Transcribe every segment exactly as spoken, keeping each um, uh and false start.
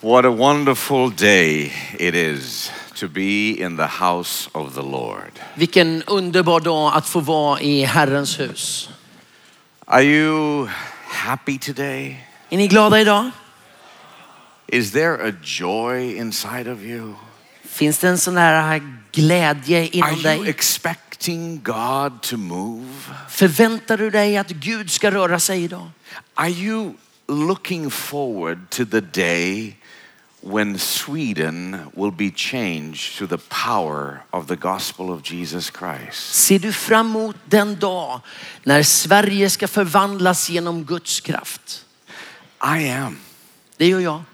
What a wonderful day it is to be in the house of the Lord. Vilken underbar dag att få vara i Herrens hus. Are you happy today? Är ni glada idag? Is there a joy inside of you? Finns det en sån här glädje Are inom you dig? expecting God to move? Förväntar du dig att Gud ska röra sig idag? Are you looking forward to the day when Sweden will be changed to the power of the gospel of Jesus Christ? Ser du fram emot den dag när Sverige ska förvandlas genom Guds kraft? I am. Det gör jag.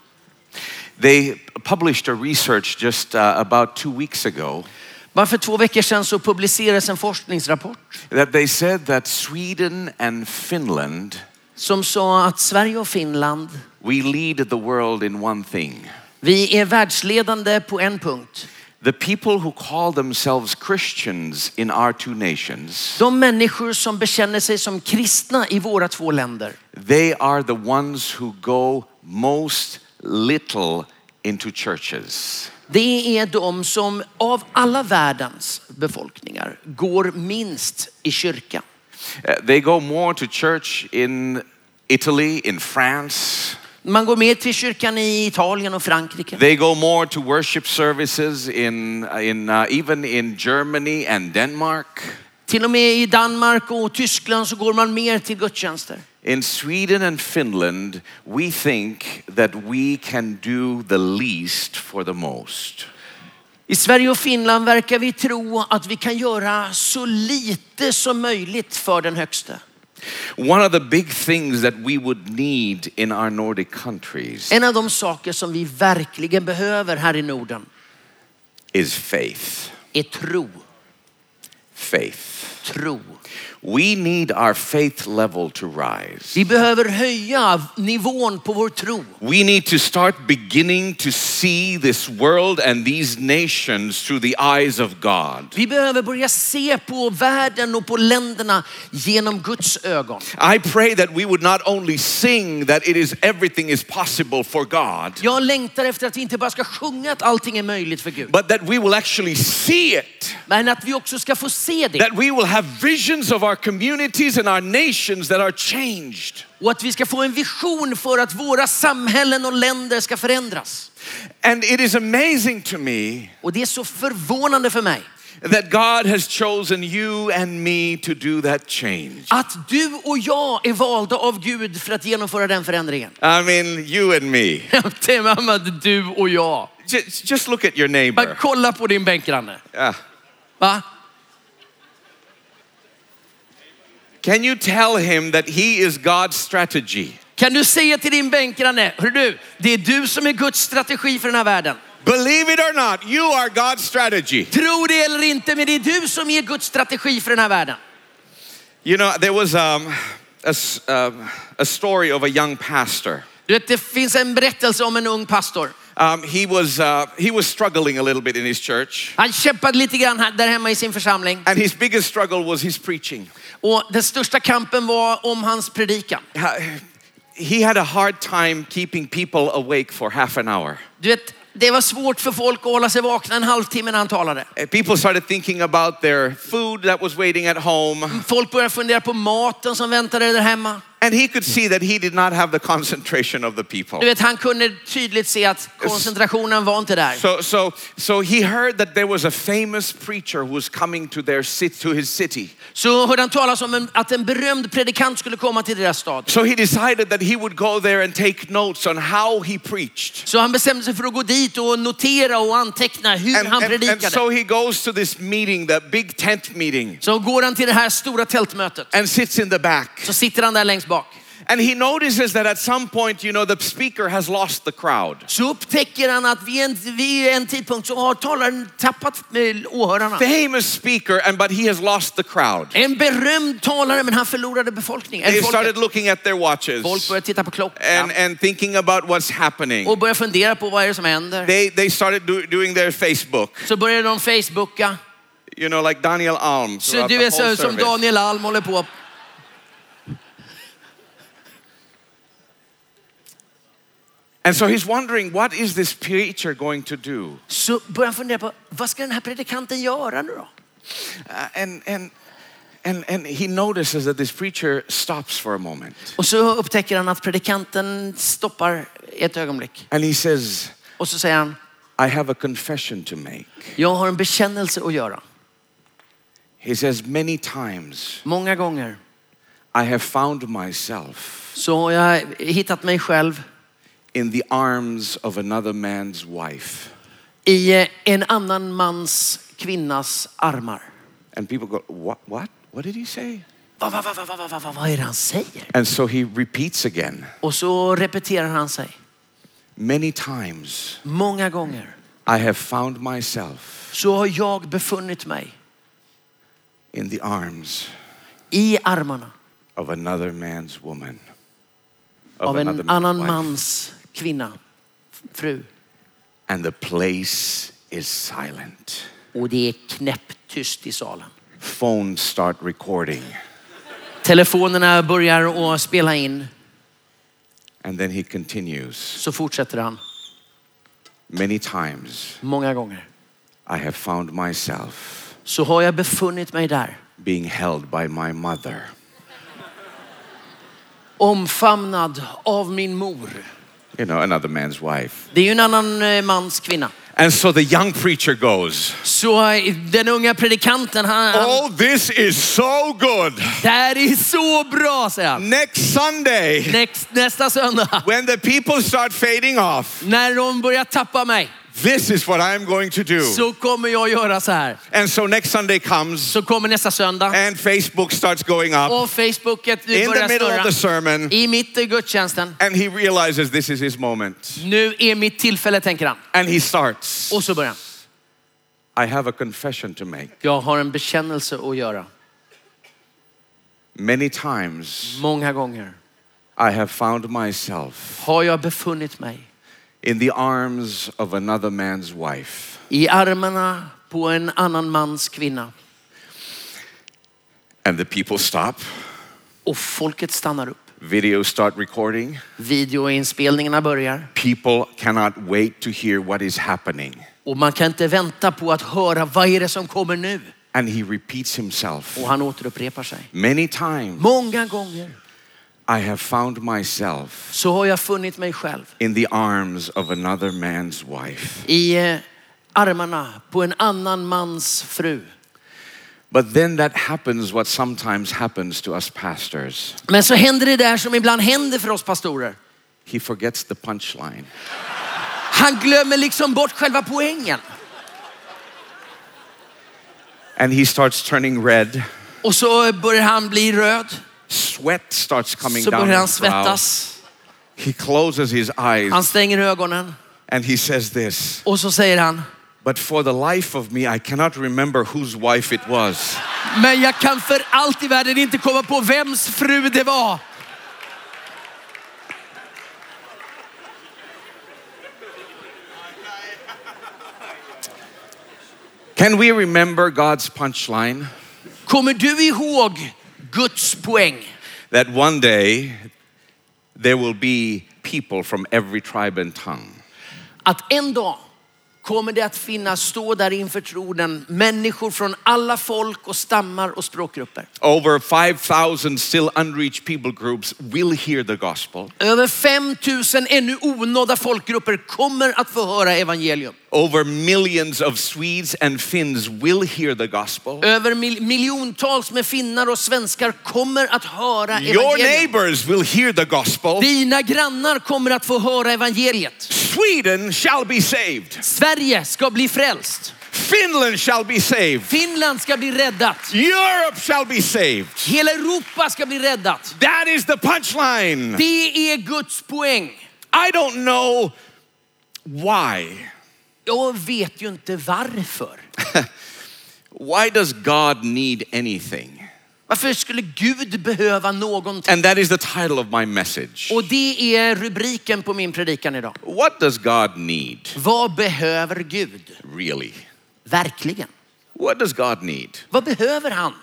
They published a research just uh, about two weeks ago Bara för två veckor sedan så publicerades en forskningsrapport that they said that Sweden and Finland, som sa att Sverige och Finland, we lead the world in one thing. vi är världsledande på en punkt. The people who call themselves Christians in our two nations, De människor som bekänner sig som kristna i våra två länder, they are the ones who go most little into churches. det är de som av alla världens befolkningar går minst i kyrkan. Uh, they go more to church in Italy, in France. Man går med till kyrkan i Italien och Frankrike. They go more to worship services in, in uh, even in Germany and Denmark. Till och med i Danmark och Tyskland så går man mer till gudstjänster. In Sweden and Finland, we think that we can do the least for the most. I Sverige och Finland verkar vi tro att vi kan göra så lite som möjligt för den högsta. One of the big things that we would need in our Nordic countries En av de saker som vi verkligen behöver här i Norden is faith. är tro. Faith. Tro. We need our faith level to rise. Vi behöver höja nivån på vår tro. We need to start beginning to see this world and these nations through the eyes of God. Vi behöver börja se på världen och på länderna genom Guds ögon. I pray that we would not only sing that it is everything is possible for God, Jag längtar efter att vi inte bara ska sjunga att allting är möjligt för Gud, but that we will actually see it. men att vi också ska få se det. That we will have visions of our communities and our nations that are changed. Och att vi ska få en vision för att våra samhällen och länder ska förändras. And it is amazing to me Och det är så förvånande för mig that God has chosen you and me to do that change. att du och jag är valda av Gud för att genomföra den förändringen. I mean, you and me. Det är mamma, du och jag. Just, just look at your Bara neighbor. kolla på din bänkgranne. Yeah. Va? Can you tell him that he is God's strategy? Kan du säga till din bänkgranne, hör du, det är du som är Guds strategi för den här världen. Believe it or not, you are God's strategy. Tro det eller inte, men det är du som är Guds strategi för den här världen. You know, there was um, a, s- um, a story of a young pastor. Du vet, det finns en berättelse om en ung pastor. Um, he was uh, he was struggling a little bit in his church, Han kämpade lite grann här, där hemma i sin församling. and his biggest struggle was his preaching. Och den största kampen var om hans predikan. Uh, He had a hard time keeping people awake for half an hour. Du vet, det var svårt för folk att hålla sig vakna en halvtimme när han talade. Uh, People started thinking about their food that was waiting at home, Folk började fundera på maten som väntade där hemma. and he could see that he did not have the concentration of the people. Du vet, han kunde tydligt se att koncentrationen var inte där. So, so, so he heard that there was a famous preacher who was coming to their city, to his city. Så hörde han talas om en, att en berömd predikant skulle komma till deras stad. So he decided that he would go there and take notes on how he preached. Så han bestämde sig för att gå dit och notera och anteckna hur And, han and, and predikade. so he goes to this meeting, the big tent meeting, Så går han till det här stora tältmötet. and sits in the back. Så sitter han där längst bak. And he notices that at some point, you know, the speaker has lost the crowd. Så upptäcker han att vid en, vid en tidpunkt så har talaren tappat med åhörarna. Famous speaker, and but he has lost the crowd. En berömd talare, men han förlorade befolkningen. They Folket. started looking at their watches Folk började titta på klockan and, and thinking about what's happening. och började fundera på vad är det som händer. They, they started do, doing their Facebook, Så började de Facebooka. you know, like Daniel Alm. Så throughout du the är whole så som service. Daniel Alm håller på. And so he's wondering, what is this preacher going to do? Så börjar han fundera på, vad ska den här predikanten göra nu då? Uh, and, and, and, and he notices that this preacher stops for a moment. Och så upptäcker han att predikanten stoppar ett ögonblick. And he says, Och så säger han, I have a confession to make. jag har en bekännelse att göra. He says, many times Många gånger I have found myself så har jag hittat mig själv in the arms of another man's wife. i en annan mans kvinnas armar. And people go, what, what? What did he say? Vad va, va, va, va, va, va, vad är det han säger? And so he repeats again. Och så repeterar han sig. Many times Många gånger I have found myself så har jag befunnit mig in the arms i armarna of another man's woman. Of av another en man's annan wife. mans kvinna, fru. And the place is silent. Och det är knäpptyst i salen. Phones start recording. Telefonerna börjar att spela in. And then he continues. Så fortsätter han. Many times Många gånger I have found myself så har jag befunnit mig där. being held by my mother. Omfamnad av min mor. You know, another man's wife. Det är ju en annan eh, mans kvinna. And so the young preacher goes, Så eh, den unga predikanten, han, han oh, this is so good. det här är så bra, säger han. Next Sunday, Next, nästa söndag, when the people start fading off, när de börjar tappa mig, this is what I'm going to do. så kommer jag göra så här. And so next Sunday comes Så kommer nästa söndag and Facebook starts going up och Facebooket in the börjar middle of snurra the sermon. i mitt i gudstjänsten. And he realizes this is his moment. Nu är mitt tillfälle, tänker han. And he starts, Och så börjar han. I have a confession to make. Jag har en bekännelse att göra. Many times Många gånger I have found myself har jag befunnit mig in the arms of another man's wife. i armarna på en annan mans kvinna. And the people stop. Och folket stannar upp. Videos start recording. Videoinspelningarna börjar. People cannot wait to hear what is happening. Och man kan inte vänta på att höra vad är det som kommer nu. And he repeats himself. Och han återupprepar sig. Many times Många gånger I have found myself så har jag funnit mig själv in the arms of another man's wife. i eh, armarna på en annan mans fru. But then that happens what sometimes happens to us pastors. Men så händer det där som ibland händer för oss pastorer. He forgets the punchline. Han glömmer liksom bort själva poängen. And he starts turning red. Och så börjar han bli röd. Sweat starts coming Så down börjar han his brow. svettas. He closes his eyes Han stänger ögonen. and he says this, Och så säger han, but for the life of me I cannot remember whose wife it was. men jag kan för allt i världen inte komma på vems fru det var. Can we remember God's punchline? Kommer du ihåg Guds poäng? That one day there will be people from every tribe and tongue. Att en dag kommer det att finnas, stå där inför tronen, människor från alla folk och stammar och språkgrupper. Over five thousand still unreached people groups will hear the gospel. Över fem tusen ännu onådda folkgrupper kommer att få höra evangelium. Over millions of Swedes and Finns will hear the gospel. Över mil- miljontals med finnar och svenskar kommer att höra Your evangelium. neighbors will hear the gospel. Dina grannar kommer att få höra evangeliet. Sweden shall be saved. Sverige ska bli frälst. Finland shall be saved. Finland ska bli räddat. Europe shall be saved. Hela Europa ska bli räddat. That is the punchline. Det är Guds poäng. I don't know why. Jag vet ju inte varför. Why does God need anything? Varför skulle Gud behöva någonting? And that is the title of my message. Och det är rubriken på min predikan idag. What does God need? Vad behöver Gud? Really? Verkligen. What does God need? Vad behöver han?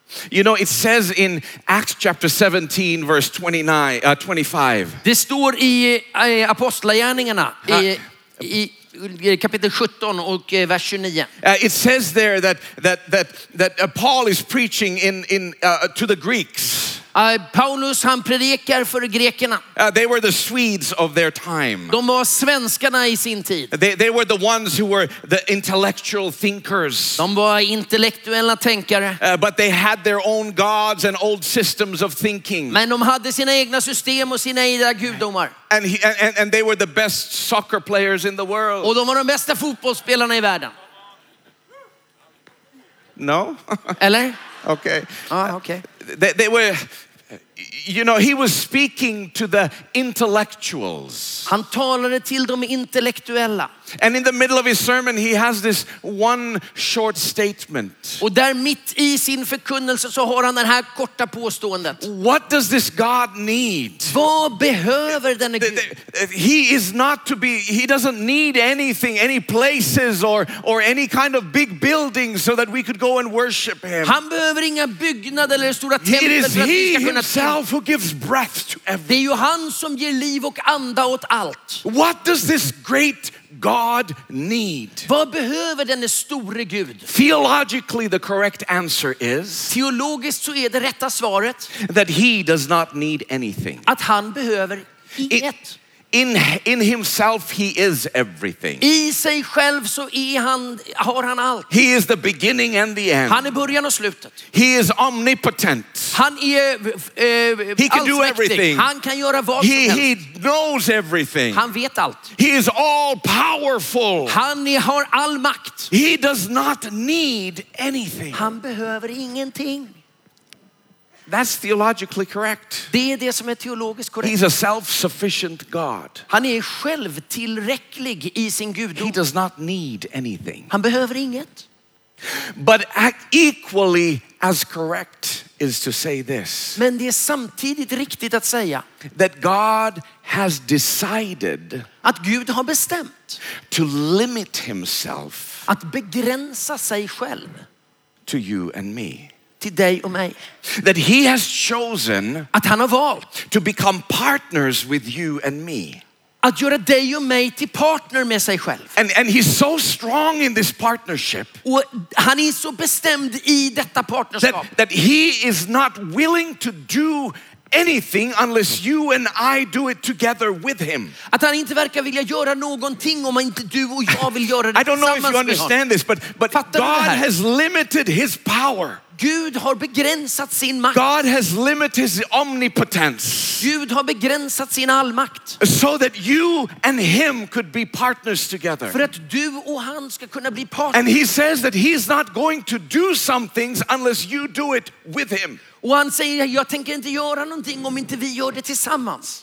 You know, it says in Acts chapter seventeen, verse twenty-nine, uh, twenty-five. Det står i eh, Apostlagärningarna i, i, i kapitel sjutton och eh, vers tjugonio. Uh, it says there that that that that uh, Paul is preaching in in uh, to the Greeks. Uh, Paulus han predikar för grekerna. Uh, they were the Swedes of their time. De var svenskarna i sin tid. They they were the ones who were the intellectual thinkers. De var intellektuella tänkare. Uh, but they had their own gods and old systems of thinking. Men de hade sina egna system och sina egna gudomar. And, he, and and they were the best soccer players in the world. Och de var de bästa fotbollsspelarna i världen. No? Eller? Okay. Ah, okay. They, they were, you know, he was speaking to the intellectuals. Han talade till de intellektuella. And in the middle of his sermon, he has this one short statement. Och där mitt i sin förkunnelse så har han den här korta påståendet. What does this God need? Vad behöver denne The- Gud? the- He is not to be, he doesn't need anything, any places or, or any kind of big buildings so that we could go and worship him. Han behöver inga byggnader eller stora It tempel is för att vi he ska kunna till. himself who gives breath to Det everything. är ju han som ger liv och anda åt allt. What does this great God need? Vad behöver denne store Gud? Theologically, the correct answer is Teologiskt så är det rätta svaret that he does not need anything. att han behöver inget. In, in himself, he is everything. I sig själv så är han, har han allt. He is the beginning and the end. Han är början och slutet. He is omnipotent. Han är eh, He can do allsmäktig. everything. Han kan göra vad som He, helst. he knows everything. Han vet allt. He is all powerful. Han är, har all makt. He does not need anything. Han behöver ingenting. That's theologically correct. Det är det som är teologiskt korrekt. He's a self-sufficient God. Han är självtillräcklig i sin He gudom. does not need anything. Han behöver inget. But equally as correct is to say this, Men det är samtidigt riktigt att säga that God has decided att Gud har bestämt to limit himself att begränsa sig själv to you and me. till dig och mig. That he has chosen Att han har valt to become partners with you and me. att göra dig och mig till partner med sig själv. And, and he's so strong in this partnership Och han är så bestämd i detta partnerskap that, that he is not willing to do anything unless you and I do it together with him. att han inte verkar vilja göra någonting om inte du och jag vill göra det I don't know if tillsammans you med honom. understand this, but, but Fattar du det God här? has limited his power. Gud har begränsat sin makt. God has limited his omnipotence Gud har begränsat sin allmakt. so that you and him could be partners together. För att du och han ska kunna bli partner. And he says that he's not going to do some things unless you do it with him. Och han säger, jag tänker inte göra någonting om inte vi gör det tillsammans.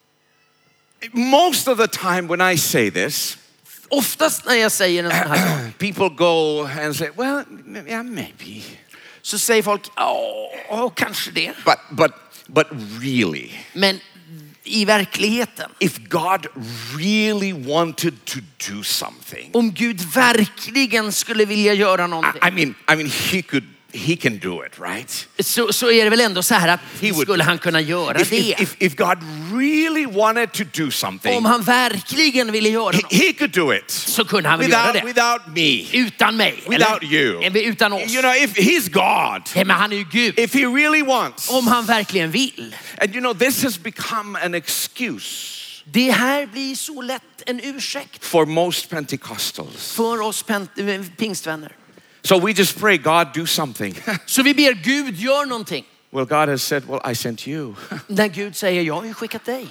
Most of the time when I say this, Oftast när jag säger en sån här sak people go and say, well, yeah, maybe. så säger folk, ja, kanske det. But, but, but really, Men i verkligheten, if God really wanted to do something, om Gud verkligen skulle vilja göra I, någonting, I mean, I mean, he could, he can do it, right? så, så är det väl ändå så här att He would- skulle han kunna göra If, det. if, if, if God really wanted to do something, Om han verkligen ville göra he, något he could do it så kunde han väl göra without, det. without me, Utan mig. without eller? you. Eller utan oss. You know, if he's God, Nej, men han är ju Gud. if he really wants, Om han verkligen vill. and you know, this has become an excuse Det här blir så lätt en ursäkt for most Pentecostals. för oss pent- pingstvänner. So we just pray, God, do something. Så vi ber Gud gör någonting. Well, God has said, well, I sent you. När Gud säger, jag har ju skickat dig.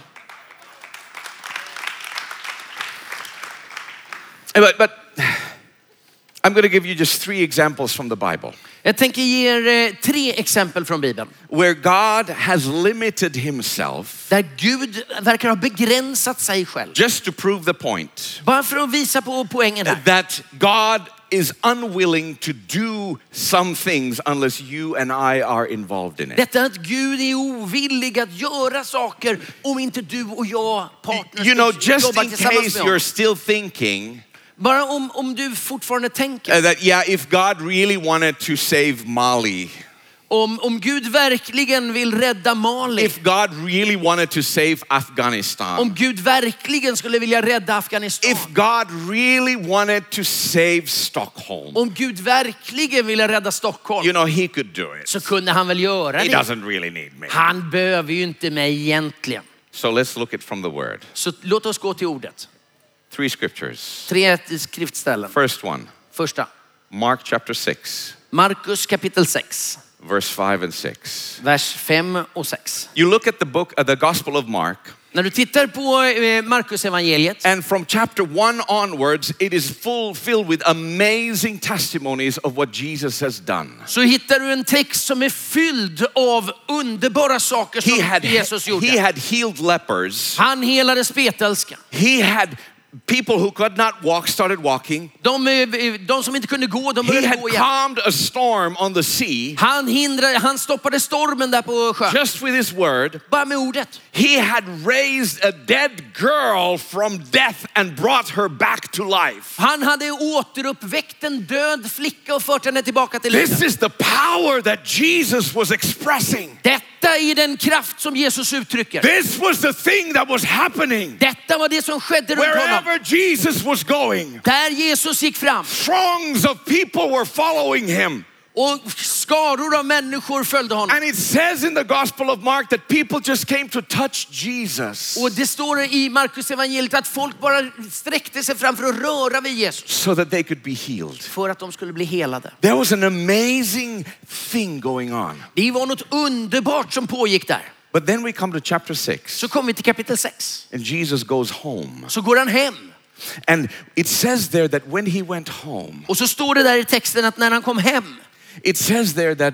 But, but I'm going to give you just three examples from the Bible Jag tänker ge er eh, tre exempel från Bibeln. where God has limited himself Där Gud verkar ha begränsat sig själv. just to prove the point Bara för att visa på poängen här. that God is unwilling to do some things unless you and I are involved in it. Detta att Gud är ovillig att göra saker om inte du och jag partners You know, just jobbar in tillsammans case med you're honom. still thinking Bara om, om du fortfarande tänker. uh, that, yeah, if God really wanted to save Mali, Om, om Gud verkligen vill rädda Mali, if God really wanted to save Afghanistan, om Gud verkligen skulle vilja rädda Afghanistan, if God really wanted to save Stockholm, om Gud verkligen ville rädda Stockholm, you know, he could do it. så kunde han väl göra He det. doesn't really need me. Han behöver ju inte mig egentligen. So let's look at from the word. Så låt oss gå till ordet. Three scriptures. Tre skriftställen. First one, Första, Mark chapter six, Markus kapitel sex, verse five and six. vers fem och sex. You look at the book, uh, the Gospel of Mark, När du tittar på eh, Markus evangeliet, and from chapter one onwards, it is full filled with amazing testimonies of what Jesus has done. så hittar du en text som är fylld av underbara saker som He had, Jesus gjorde. he had healed lepers. Han helade spetälska. He had people who could not walk started walking. De, eh, de som inte kunde gå, de He började had gå igen. calmed a storm on the sea Han hindrade, han stoppade stormen där på sjön. just with his word. Bara med ordet. He had raised a dead girl from death and brought her back to life. Han hade återuppväckt en död flicka och fört henne tillbaka till This livet. is the power that Jesus was expressing. Detta är den kraft som Jesus uttrycker. This was the thing that was happening. Detta var det som skedde runt honom. Wherever Jesus was going, Där Jesus gick fram throngs of people were following him. och skaror av människor följde honom. And it says in the Gospel of Mark that people just came to touch Jesus Och det står i Markus evangeliet att folk bara sträckte sig fram för att röra vid Jesus. so that they could be healed. För att de skulle bli helade. There was an amazing thing going on. Det var något underbart som pågick där. But then we come to chapter six, Så kommer vi till kapitel sex. and Jesus goes home. Så går han hem. And it says there that when he went home, Och så står det där i texten att när han kom hem, it says there that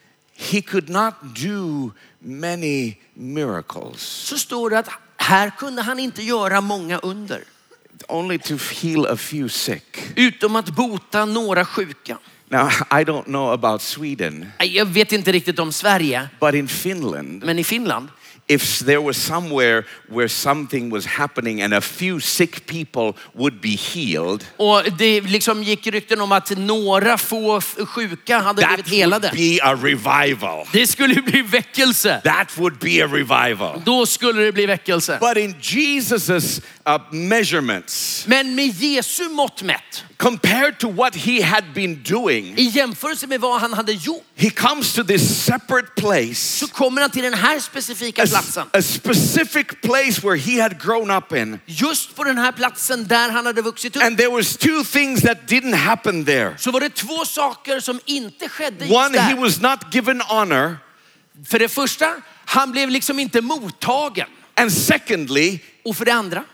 he could not do many miracles, så står det att här kunde han inte göra många under. only to heal a few sick. Utom att bota några sjuka. Now, I don't know about Sweden, Jag vet inte riktigt om Sverige, but in Finland, men i Finland, if there was somewhere where something was happening and a few sick people would be healed, och det liksom gick rykten om att några få sjuka hade that blivit helade. would be a revival. Det skulle bli väckelse. That would be a revival. Då skulle det bli väckelse. But in Jesus's uh, measurements, Men med Jesu mått mätt, compared to what he had been doing, i jämförelse med vad han hade gjort, he comes to this separate place, så kommer han till den här specifika a, platsen. a specific place where he had grown up in. Just på den här platsen där han hade vuxit upp. And there was two things that didn't happen there. Så var det två saker som inte skedde just One, he där. was not given honor. För det första, han blev liksom inte mottagen. And secondly, Och för det andra,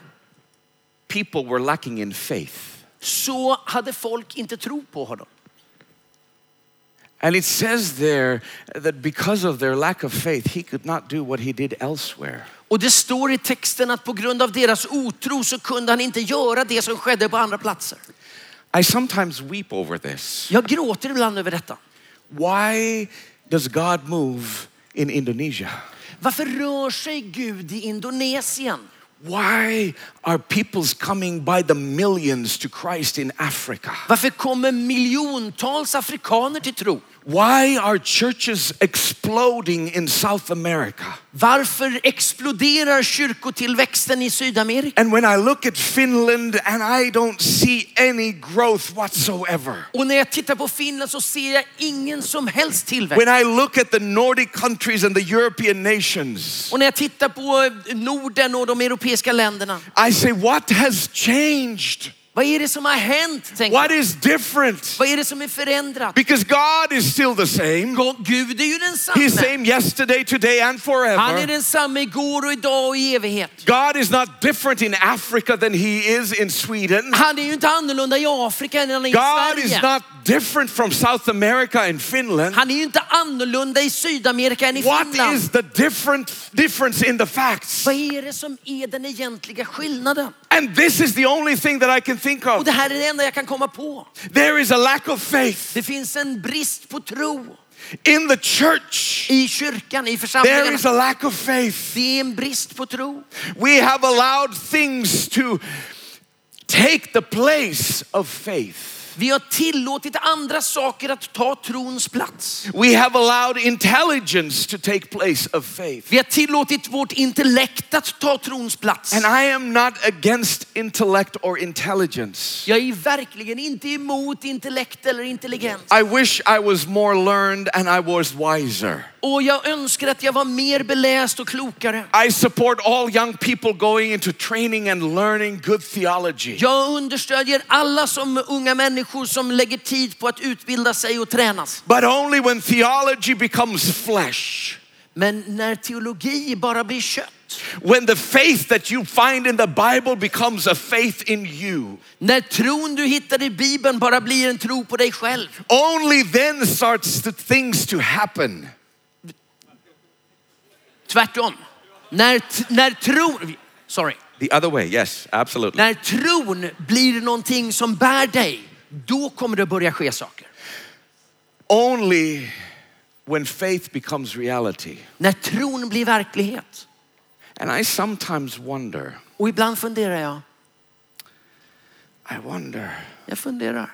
people were lacking in faith. så hade folk inte tro på honom. And it says there that because of their lack of faith, he could not do what he did elsewhere. Och det står i texten att på grund av deras otro så kunde han inte göra det som skedde på andra platser. I sometimes weep over this. Jag gråter ibland över detta. Why does God move in Indonesia? Varför rör sig Gud i Indonesien? Why are peoples coming by the millions to Christ in Africa? Varför kommer miljontals afrikaner till tro? Why are churches exploding in South America? Varför exploderar kyrkotillväxten i Sydamerika? And when I look at Finland and I don't see any growth whatsoever. Och när jag tittar på Finland så ser jag ingen som helst tillväxt. When I look at the Nordic countries and the European nations, Och när jag tittar på Norden och de europeiska länderna, I say, what has changed? vad är det som har hänt? Tänker jag. What is different? Vad är det som är förändrat? Because God is still the same. Gud är ju He's densamme. same yesterday, today and Han är forever. densamme igår och idag och i evighet. God is not different in Africa than he is in Sweden. Han är ju inte annorlunda i Afrika än han är i God is Sverige. not different from South America and Finland. Han är ju inte annorlunda i Sydamerika än i What Finland. is the different difference in the facts? Vad är det som är den egentliga skillnaden? And this is the only thing that I can think Och of. det här är det enda jag kan komma på. There is a lack of faith Det finns en brist på tro in the church. i kyrkan, i There församlingarna. is a lack of faith. Det är en brist på tro. We have allowed things to take the place of faith. Vi har tillåtit andra saker att ta trons plats. We have allowed intelligence to take place of faith. Vi har tillåtit vårt intellekt att ta trons plats. And I am not against intellect or intelligence. Jag är verkligen inte emot intellekt eller intelligens. I wish I was more learned and I was wiser. Och jag önskar att jag var mer beläst och klokare. I support all young people going into training and learning good theology. Jag understödjer alla som unga människor som lägger tid på att utbilda sig och tränas. But only when theology becomes flesh. Men när teologi bara blir kött. When the faith that you find in the Bible becomes a faith in you. När tron du hittar i Bibeln bara blir en tro på dig själv. Only then starts the things to happen. Tvärtom. När, när tron, sorry. The other way, yes, absolutely. När tron blir någonting som bär dig, då kommer det börja ske saker. Only when faith becomes reality. När tron blir verklighet. And I sometimes wonder. Och ibland funderar jag. I wonder. Jag funderar.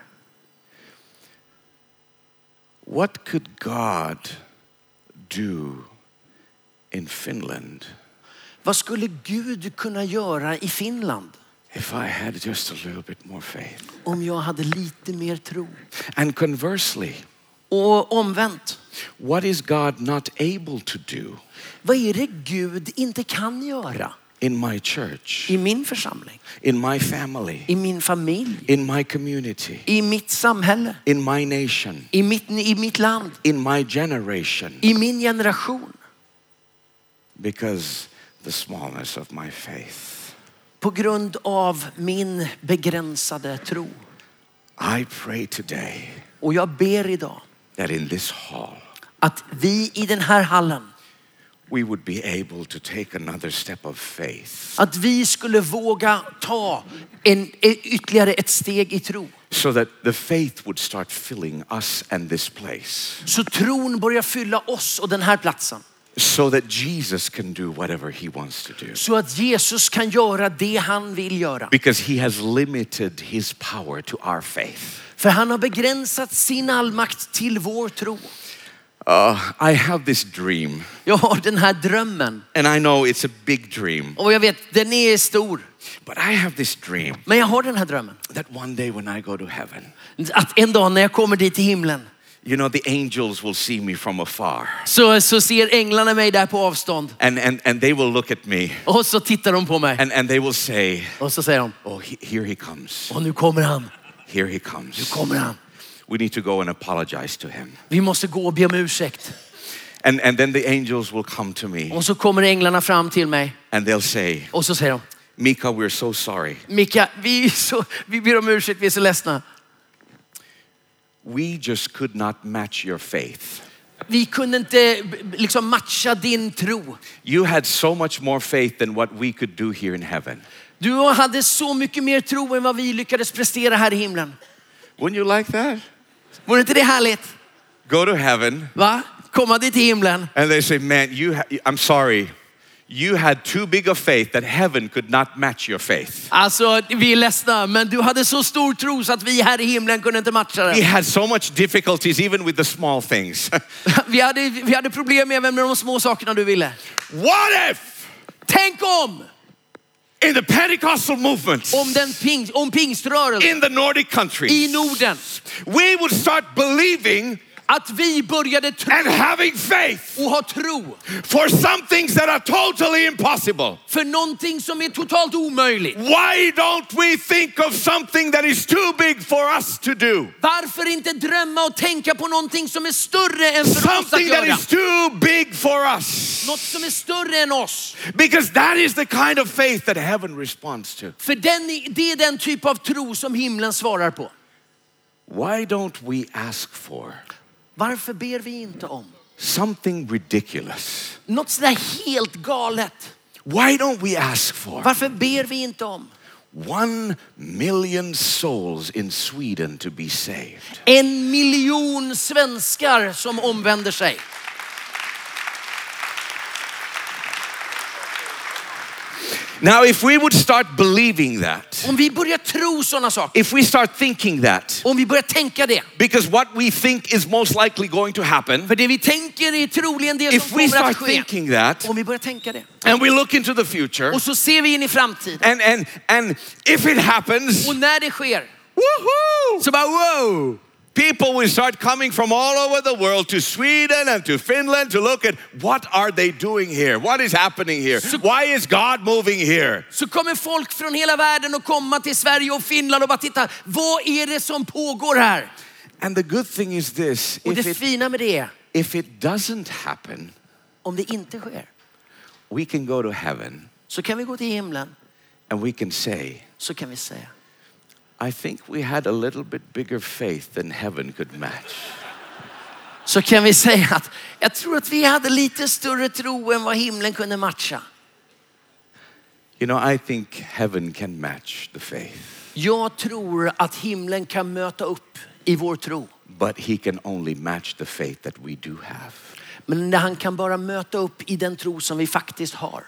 What could God do in Finland? Vad skulle Gud kunna göra i Finland? If I had just a little bit more faith. Om jag hade lite mer tro. And conversely. Och omvänt. What is God not able to do? Vad är det Gud inte kan göra? In my church. I min församling. In my family. I min familj. In my community. I mitt samhälle. In my nation. I mitt, i mitt land. In my generation. I min generation. Because the smallness of my faith. På grund av min begränsade tro. I pray today. Och jag ber idag. That in this hall. Att vi i den här hallen. We would be able to take another step of faith. Att vi skulle våga ta en, ytterligare ett steg i tro. So that the faith would start filling us and this place. Så tron börjar fylla oss och den här platsen. So that Jesus can do whatever he wants to do. Så att Jesus kan göra det han vill göra. Because he has limited his power to our faith. För han har begränsat sin allmakt till vår tro. Uh, I have this dream. Jag har den här drömmen. And I know it's a big dream. Och jag vet, den är stor. But I have this dream. Men jag har den här drömmen. That one day when I go to heaven. Att en dag när jag kommer dit till himlen. You know, the angels will see me from afar. Så, så ser änglarna mig där på avstånd. And, and, and they will look at me. Och så tittar de på mig. And, and they will say. Och så säger de. Oh, he, here he comes. Och nu kommer han. Here he comes. Nu kommer han. We need to go and apologize to him. Vi måste gå och be om ursäkt. And, and then the angels will come to me. Och så kommer änglarna fram till mig. And they'll say. Och så säger de. Mika, we're so sorry. Mika, vi, är så, vi ber om ursäkt, vi är så ledsna. We just could not match your faith. Vi kunde inte liksom matcha din tro. You had so much more faith than what we could do here in heaven. Du hade så mycket mer tro än vad vi lyckades prestera här i himlen. Wouldn't you like that? Vore inte det härligt? Go to heaven. Va? Komma dit till himlen. And they say, man, you ha- I'm sorry. You had too big of faith that heaven could not match your faith. Alltså, vi är ledsna, men du hade så stor tro så att vi här i himlen kunde inte matcha det. We had so much difficulties even with the small things. vi, hade, vi hade problem även med de små sakerna du ville. What if? Tänk om! In the Pentecostal movements. Om den ping, om pingströrelsen. In the Nordic countries. I Norden. We would start believing. Att vi började tro. And having faith. Och ha tro. For some things that are totally impossible. För någonting som är totalt omöjligt. Why don't we think of something that is too big for us to do? Varför inte drömma och tänka på någonting som är större än för oss att Something that göra? is too big for us. Något som är större än oss. Because that is the kind of faith that heaven responds to. För den, det är den typ av tro som himlen svarar på. Why don't we ask for? Varför ber vi inte om? Something ridiculous. Något sådär helt galet. Why don't we ask for? Varför ber vi inte om? One million souls in Sweden to be saved. En miljon svenskar som omvänder sig. Now if we would start believing that, Om vi börjar tro sådana saker, if we start thinking that, om vi börjar tänka det. because what we think is most likely going to happen, För det vi tänker är troligen det if som we kommer att start ske. thinking that, Om vi börjar tänka det. and we look into the future, Och så ser vi in i framtiden. and and and if it happens, Och när det sker, woohoo! så bara wow. People will start coming from all over the world to Sweden and to Finland to look at what are they doing here? What is happening here? Why is God moving here? Så kommer folk från hela världen att komma till Sverige och Finland och bara titta, vad är det som pågår här? And the good thing is this, Och if det it, fina med det är, if it doesn't happen, om det inte sker, we can go to heaven så kan vi gå till himlen, and we can say, så kan vi säga, I think we had a little bit bigger faith than heaven could match. så kan vi säga att jag tror att vi hade lite större tro än vad himlen kunde matcha. You know, I think heaven can match the faith, Jag tror att himlen kan möta upp i vår tro. but he can only match the faith that we do have. Men han kan bara möta upp i den tro som vi faktiskt har.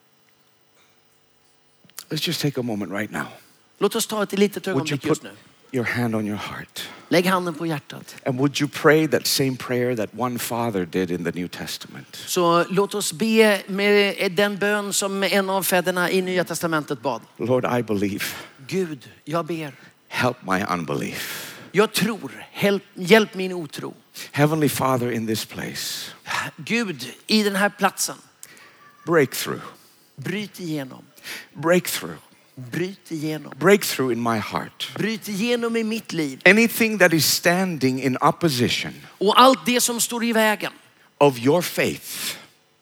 Let's just take a moment right now. Låt oss ta ett litet Would you ögonblick put just nu. your hand on your heart? Lägg handen på hjärtat. And would you pray that same prayer that one father did in the New Testament? Så låt oss be med den bön som en av fäderna i Nya Testamentet bad. Lord, I believe. Gud, jag ber. Help my unbelief. Jag tror. Hjälp, hjälp min otro. Heavenly Father, in this place, Gud, i den här platsen. breakthrough, Bryt igenom. breakthrough, Bryt igenom. breakthrough in my heart. Bryt igenom i mitt liv. Anything that is standing in opposition Och allt det som står i vägen. of your faith,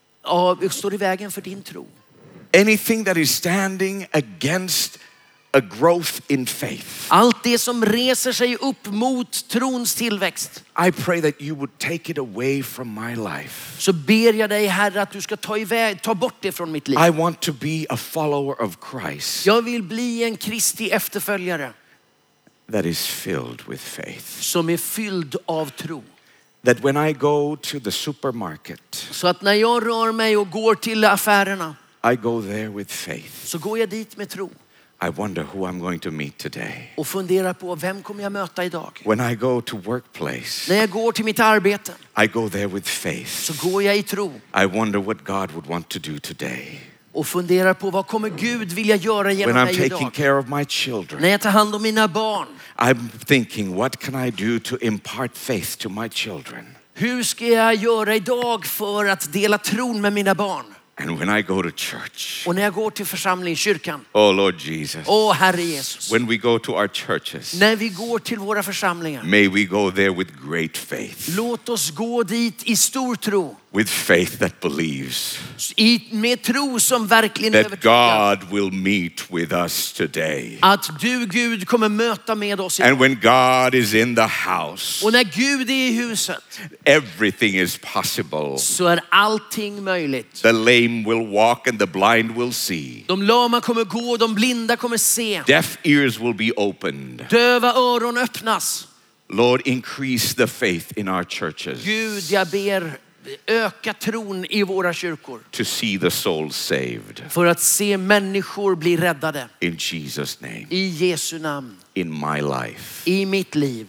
Ja, står i vägen för din tro. anything that is standing against a growth in faith, Allt det som reser sig upp mot trons tillväxt. I pray that you would take it away from my life. Så ber jag dig, Herre, att du ska ta, iväg, ta bort det från mitt liv. I want to be a follower of Christ Jag vill bli en Kristi efterföljare that is filled with faith. som är fylld av tro. That when I go to the supermarket, Så att när jag rör mig och går till affärerna, I go there with faith. så går jag dit med tro. I wonder who I'm going to meet today. Och funderar på, vem kommer jag möta idag? When I go to workplace, När jag går till mitt arbete, I go there with faith. så går jag i tro. I wonder what God would want to do today. Och funderar på, vad kommer Gud vilja göra genom When I'm mig taking idag? care of my children, När jag tar hand om mina barn, I'm thinking, what can I do to impart faith to my children? hur ska jag göra idag för att dela tron med mina barn? And when I go to church, Och när jag går till församling, kyrkan, oh Lord Jesus, åh Herre Jesus. when we go to our churches, När vi går till våra församlingar, may we go there with great faith, låt oss gå dit i stor tro. with faith that believes I, med tro som verkligen that övertygar. God will meet with us today. Att du, Gud, kommer möta med oss. And when God is in the house, Och när Gud är i huset, everything is possible. så är allting möjligt. The lame will walk and the blind will see. De lama kommer gå, de blinda kommer se. Deaf ears will be opened. Döva öron öppnas. Lord, increase the faith in our churches Gud, jag ber, öka tron i våra kyrkor. to see the souls saved. För att se människor bli räddade. In Jesus' name, I Jesu namn. in my life. I mitt liv.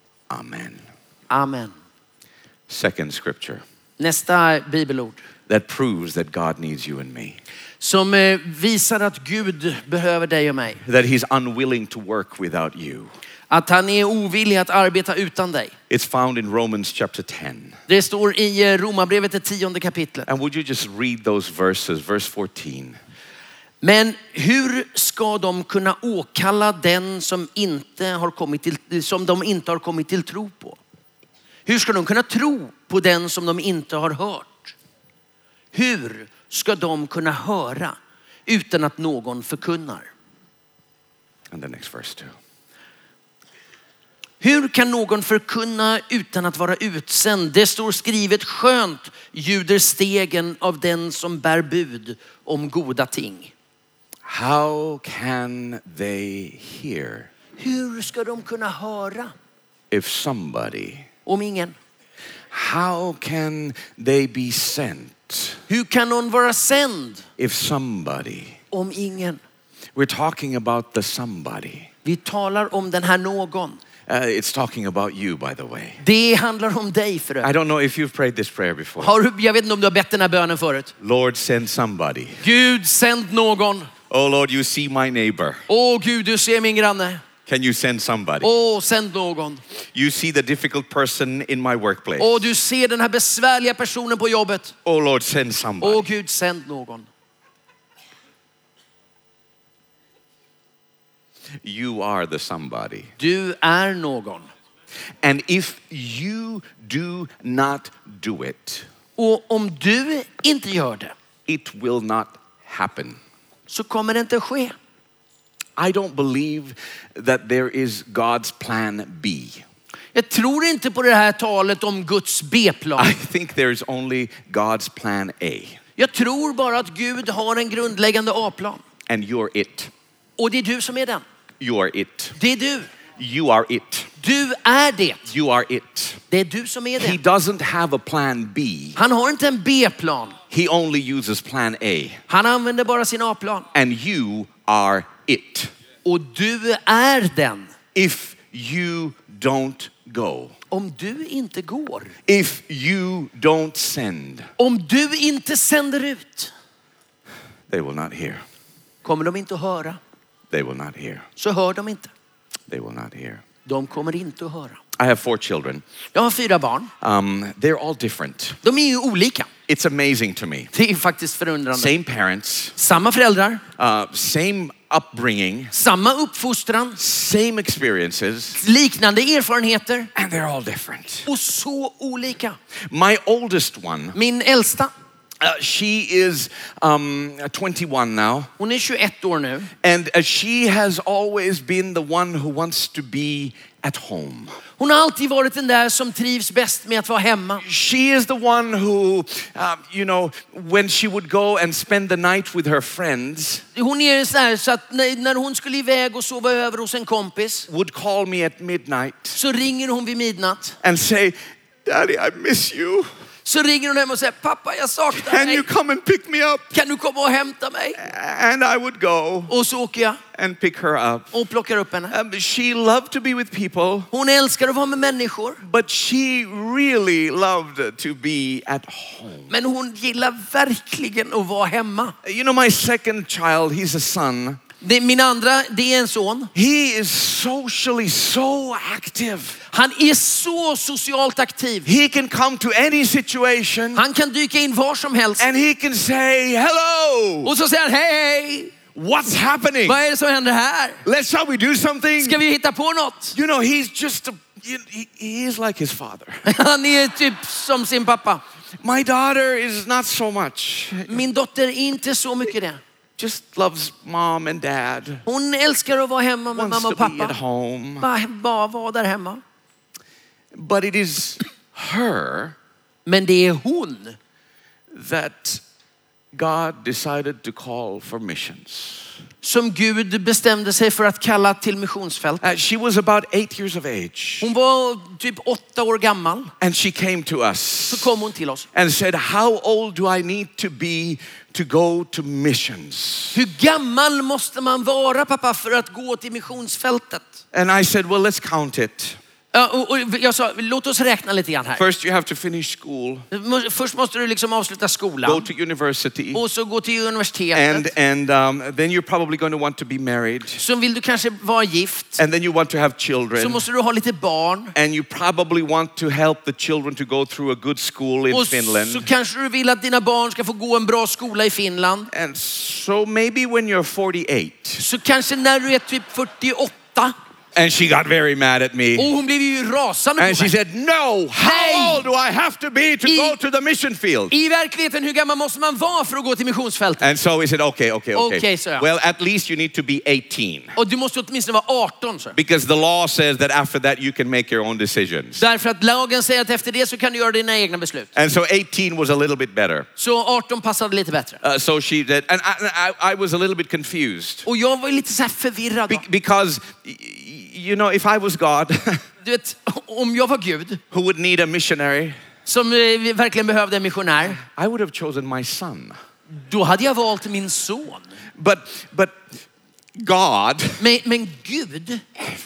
Amen. Amen. Second scripture Nästa bibelord. that proves that God needs you and me. Som eh, visar att Gud behöver dig och mig. That he's unwilling to work without you. Att han är ovillig att arbeta utan dig. It's found in Romans chapter ten. Det står i eh, Romarbrevet, det tionde kapitlet. And would you just read those verses, verse fourteen. Men hur ska de kunna åkalla den som inte har kommit till, som de inte har kommit till tro på? Hur ska de kunna tro på den som de inte har hört? Hur ska de kunna höra utan att någon förkunnar? And the next verse too. Hur kan någon förkunna utan att vara utsänd? Det står skrivet, skönt ljuder stegen av den som bär bud om goda ting. How can they hear Hur ska de kunna höra if somebody, om ingen? how can they be sent Hur kan någon vara sänd if somebody om ingen. We're talking about the somebody. Vi talar om den här någon. Uh, it's talking about you, by the way. Det handlar om dig för I don't know if you've prayed this prayer before. Har du, jag vet inte om du har bett den här bönen förut. Lord, send somebody. Gud, sänd någon. Oh Lord, you see my neighbor. Åh Gud, du ser min granne. Can you send somebody? Åh, sänd någon. You see the difficult person in my workplace. Åh, du ser den här besvärliga personen på jobbet. Oh Lord, send somebody. Åh Gud, sänd någon. You are the somebody. Du är någon. And if you do not do it, Och om du inte gör det, it will not happen. så kommer det inte ske. I don't believe that there is God's plan B. Jag tror inte på det här talet om Guds B-plan. I think there is only God's plan A. Jag tror bara att Gud har en grundläggande A-plan. And you're it. Och det är du som är den. You are it. Det är du. You are it. Du är det. You are it. Det är du som är He det. doesn't have a plan B. Han har inte en B-plan. He only uses plan A. Han använder bara sin A-plan. And you are it. Och du är den. If you don't go. Om du inte går. If you don't send. Om du inte sänder ut. They will not hear. Kommer de inte att höra. They will not hear. Så hör de inte. They will not hear. De kommer inte att höra. I have four children. Jag har fyra barn. Um, they're all different. De är ju olika. It's amazing to me. Det är faktiskt förundrande. Same parents, Samma föräldrar. uh, same upbringing, Samma uppfostran. same experiences, Liknande erfarenheter. and they're all different. Och så olika. My oldest one, Min äldsta, uh, she is um, twenty-one now, hon är tjugoett år nu. and uh, she has always been the one who wants to be at home. Hon har alltid varit den där som trivs bäst med att vara hemma. She is the one who, uh, you know, when she would go and spend the night with her friends, Hon är så här så att när, när hon skulle iväg och sova över hos en kompis would call me at midnight så ringer hon vid midnatt. and say, Daddy, I miss you. Så ringer hon hem och säger, pappa jag saknar Can dig. you come and pick me up? Kan du komma och hämta mig? And I would go Och så åker jag and pick her up. och plockar upp henne. Um, she loved to be with people, Hon älskar att vara med människor. but she really loved to be at home. Men hon gillar verkligen att vara hemma. You know, my second child, he's a son. Det, min andra, det är en son. He is socially so active. Han är så socialt aktiv. He can come to any situation Han kan dyka in var som helst. and he can say, hello, Och så säger han, hej, what's happening? vad är det som händer här? Let's, shall we do something? Ska vi hitta på något? You know, he's just, a, he, he is like his father. Han är typ som sin pappa. My daughter is not so much. Min dotter är inte så mycket det. Just loves mom and dad. Hon älskar att vara hemma med Wants mamma och to be at pappa. home. Bara, bara vara där hemma. But it is her Men det är hon that God decided to call for missions. som Gud bestämde sig för att kalla till missionsfält. Uh, she was about eight years of age. Hon var typ åtta år gammal. And she came to us Så kom hon till oss. and said, how old do I need to be to go to missions? Hur gammal måste man vara pappa för att gå till missionsfältet? And I said, well, let's count it. Ja, och, och jag sa, låt oss räkna lite grann här. First you have to finish school, Först måste du liksom avsluta go skolan. to university, Och så gå till and, universitetet. and um, then you're probably going to want to be married. Så vill du kanske vara gift. And then you want to have Så children. måste du ha lite barn. And you probably want to help the children to go through a good school in Och Finland. så kanske du vill att dina barn ska få gå en bra skola i Finland. And so maybe when you're forty-eight, Så kanske när du är typ fyrtioåtta. and she got very mad at me. Och hon blev ju rasande And på she mig. said, no, how Hey! old do I have to be to I- go to the mission field? I verkligheten, hur gammal måste man vara för att gå till missionsfältet? And so we said, okay, okay, okay. Okay, sir. Well, at least you need to be eighteen. Och du måste åtminstone vara arton. Så. Because the law says that after that you can make your own decisions. Därför att lagen säger att efter det så kan du göra dina egna beslut. And so eighteen was a little bit better. Så arton passade lite bättre. Uh, so she did, and I, I, I was a little bit confused. Och jag var ju lite så här förvirrad. Be- because, y- you know, if I was God, Du vet, om jag var Gud who would need a missionary, som eh, verkligen behövde en missionär, I would have chosen my son. då hade jag valt min son. But, but God, Men, men Gud,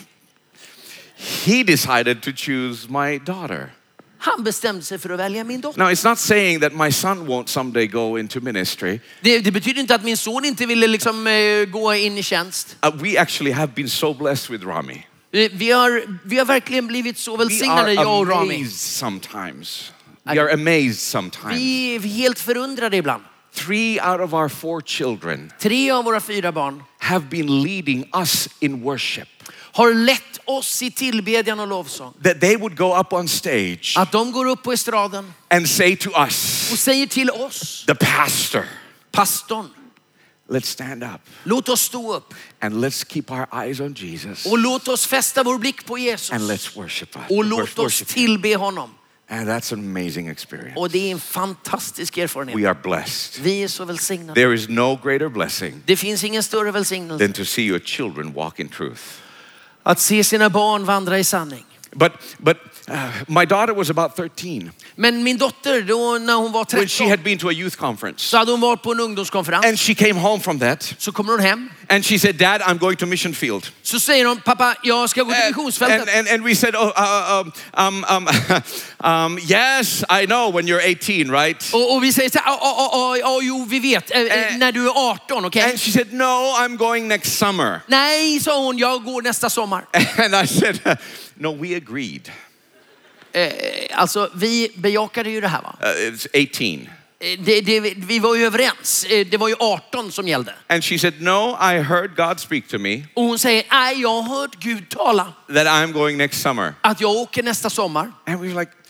he decided to choose my daughter. han bestämde sig för att välja min dotter. Now, it's not saying that my son won't someday go into ministry. Det, det betyder inte att min son inte ville liksom, eh, gå in i tjänst. Uh, we actually have been so blessed with Rami. Vi, vi, har, vi har verkligen blivit så We välsignade, are jag och Rami. amazed sometimes. We are amazed sometimes. Vi är helt förundrade ibland. Three out of our four children Tre av våra fyra barn have been leading us in worship. har lett oss i tillbedjan och lovsång. That they would go up on stage Att de går upp på estraden and say to us, och säger till oss, the pastor, pastorn, let's stand up låt oss stå upp and let's keep our eyes on Jesus och låt oss fästa vår blick på Jesus. and let's worship us. Och låt oss tillbe honom. And that's an amazing experience. Och det är en fantastisk erfarenhet. We are blessed. Vi är så välsignade. There is no greater blessing Det finns ingen större välsignelse than to see your children walk in truth. att se sina barn vandra i sanning. But but uh, my daughter was about thirteen Men min dotter, då när hon var when she tretton, had been to a youth conference. så hade hon varit på en ungdomskonferens. And she came home from that Så kommer hon hem. and she said, Dad, I'm going to mission field. Så säger hon, pappa, jag ska gå till And, missionsfältet. and, and, and we said, oh, uh, um, um, um, um, yes, I know when you're eighteen, right? Och, och vi säger så här, ja, ja, ja, ja, jo, vi vet, eh, Eh, när du är arton, okej? And she said, no, I'm going next summer. Nej, sa hon, jag går nästa sommar. And I said, no, we agreed. Eh, alltså, vi bejakade ju det här, va? Uh, it's eighteen. Eh, Det, det, vi var ju överens. Eh, Det var ju arton som gällde. And she said, no, I heard God speak to me Och hon säger, nej, jag har hört Gud tala that I'm going next summer. att jag åker nästa sommar. And we were like,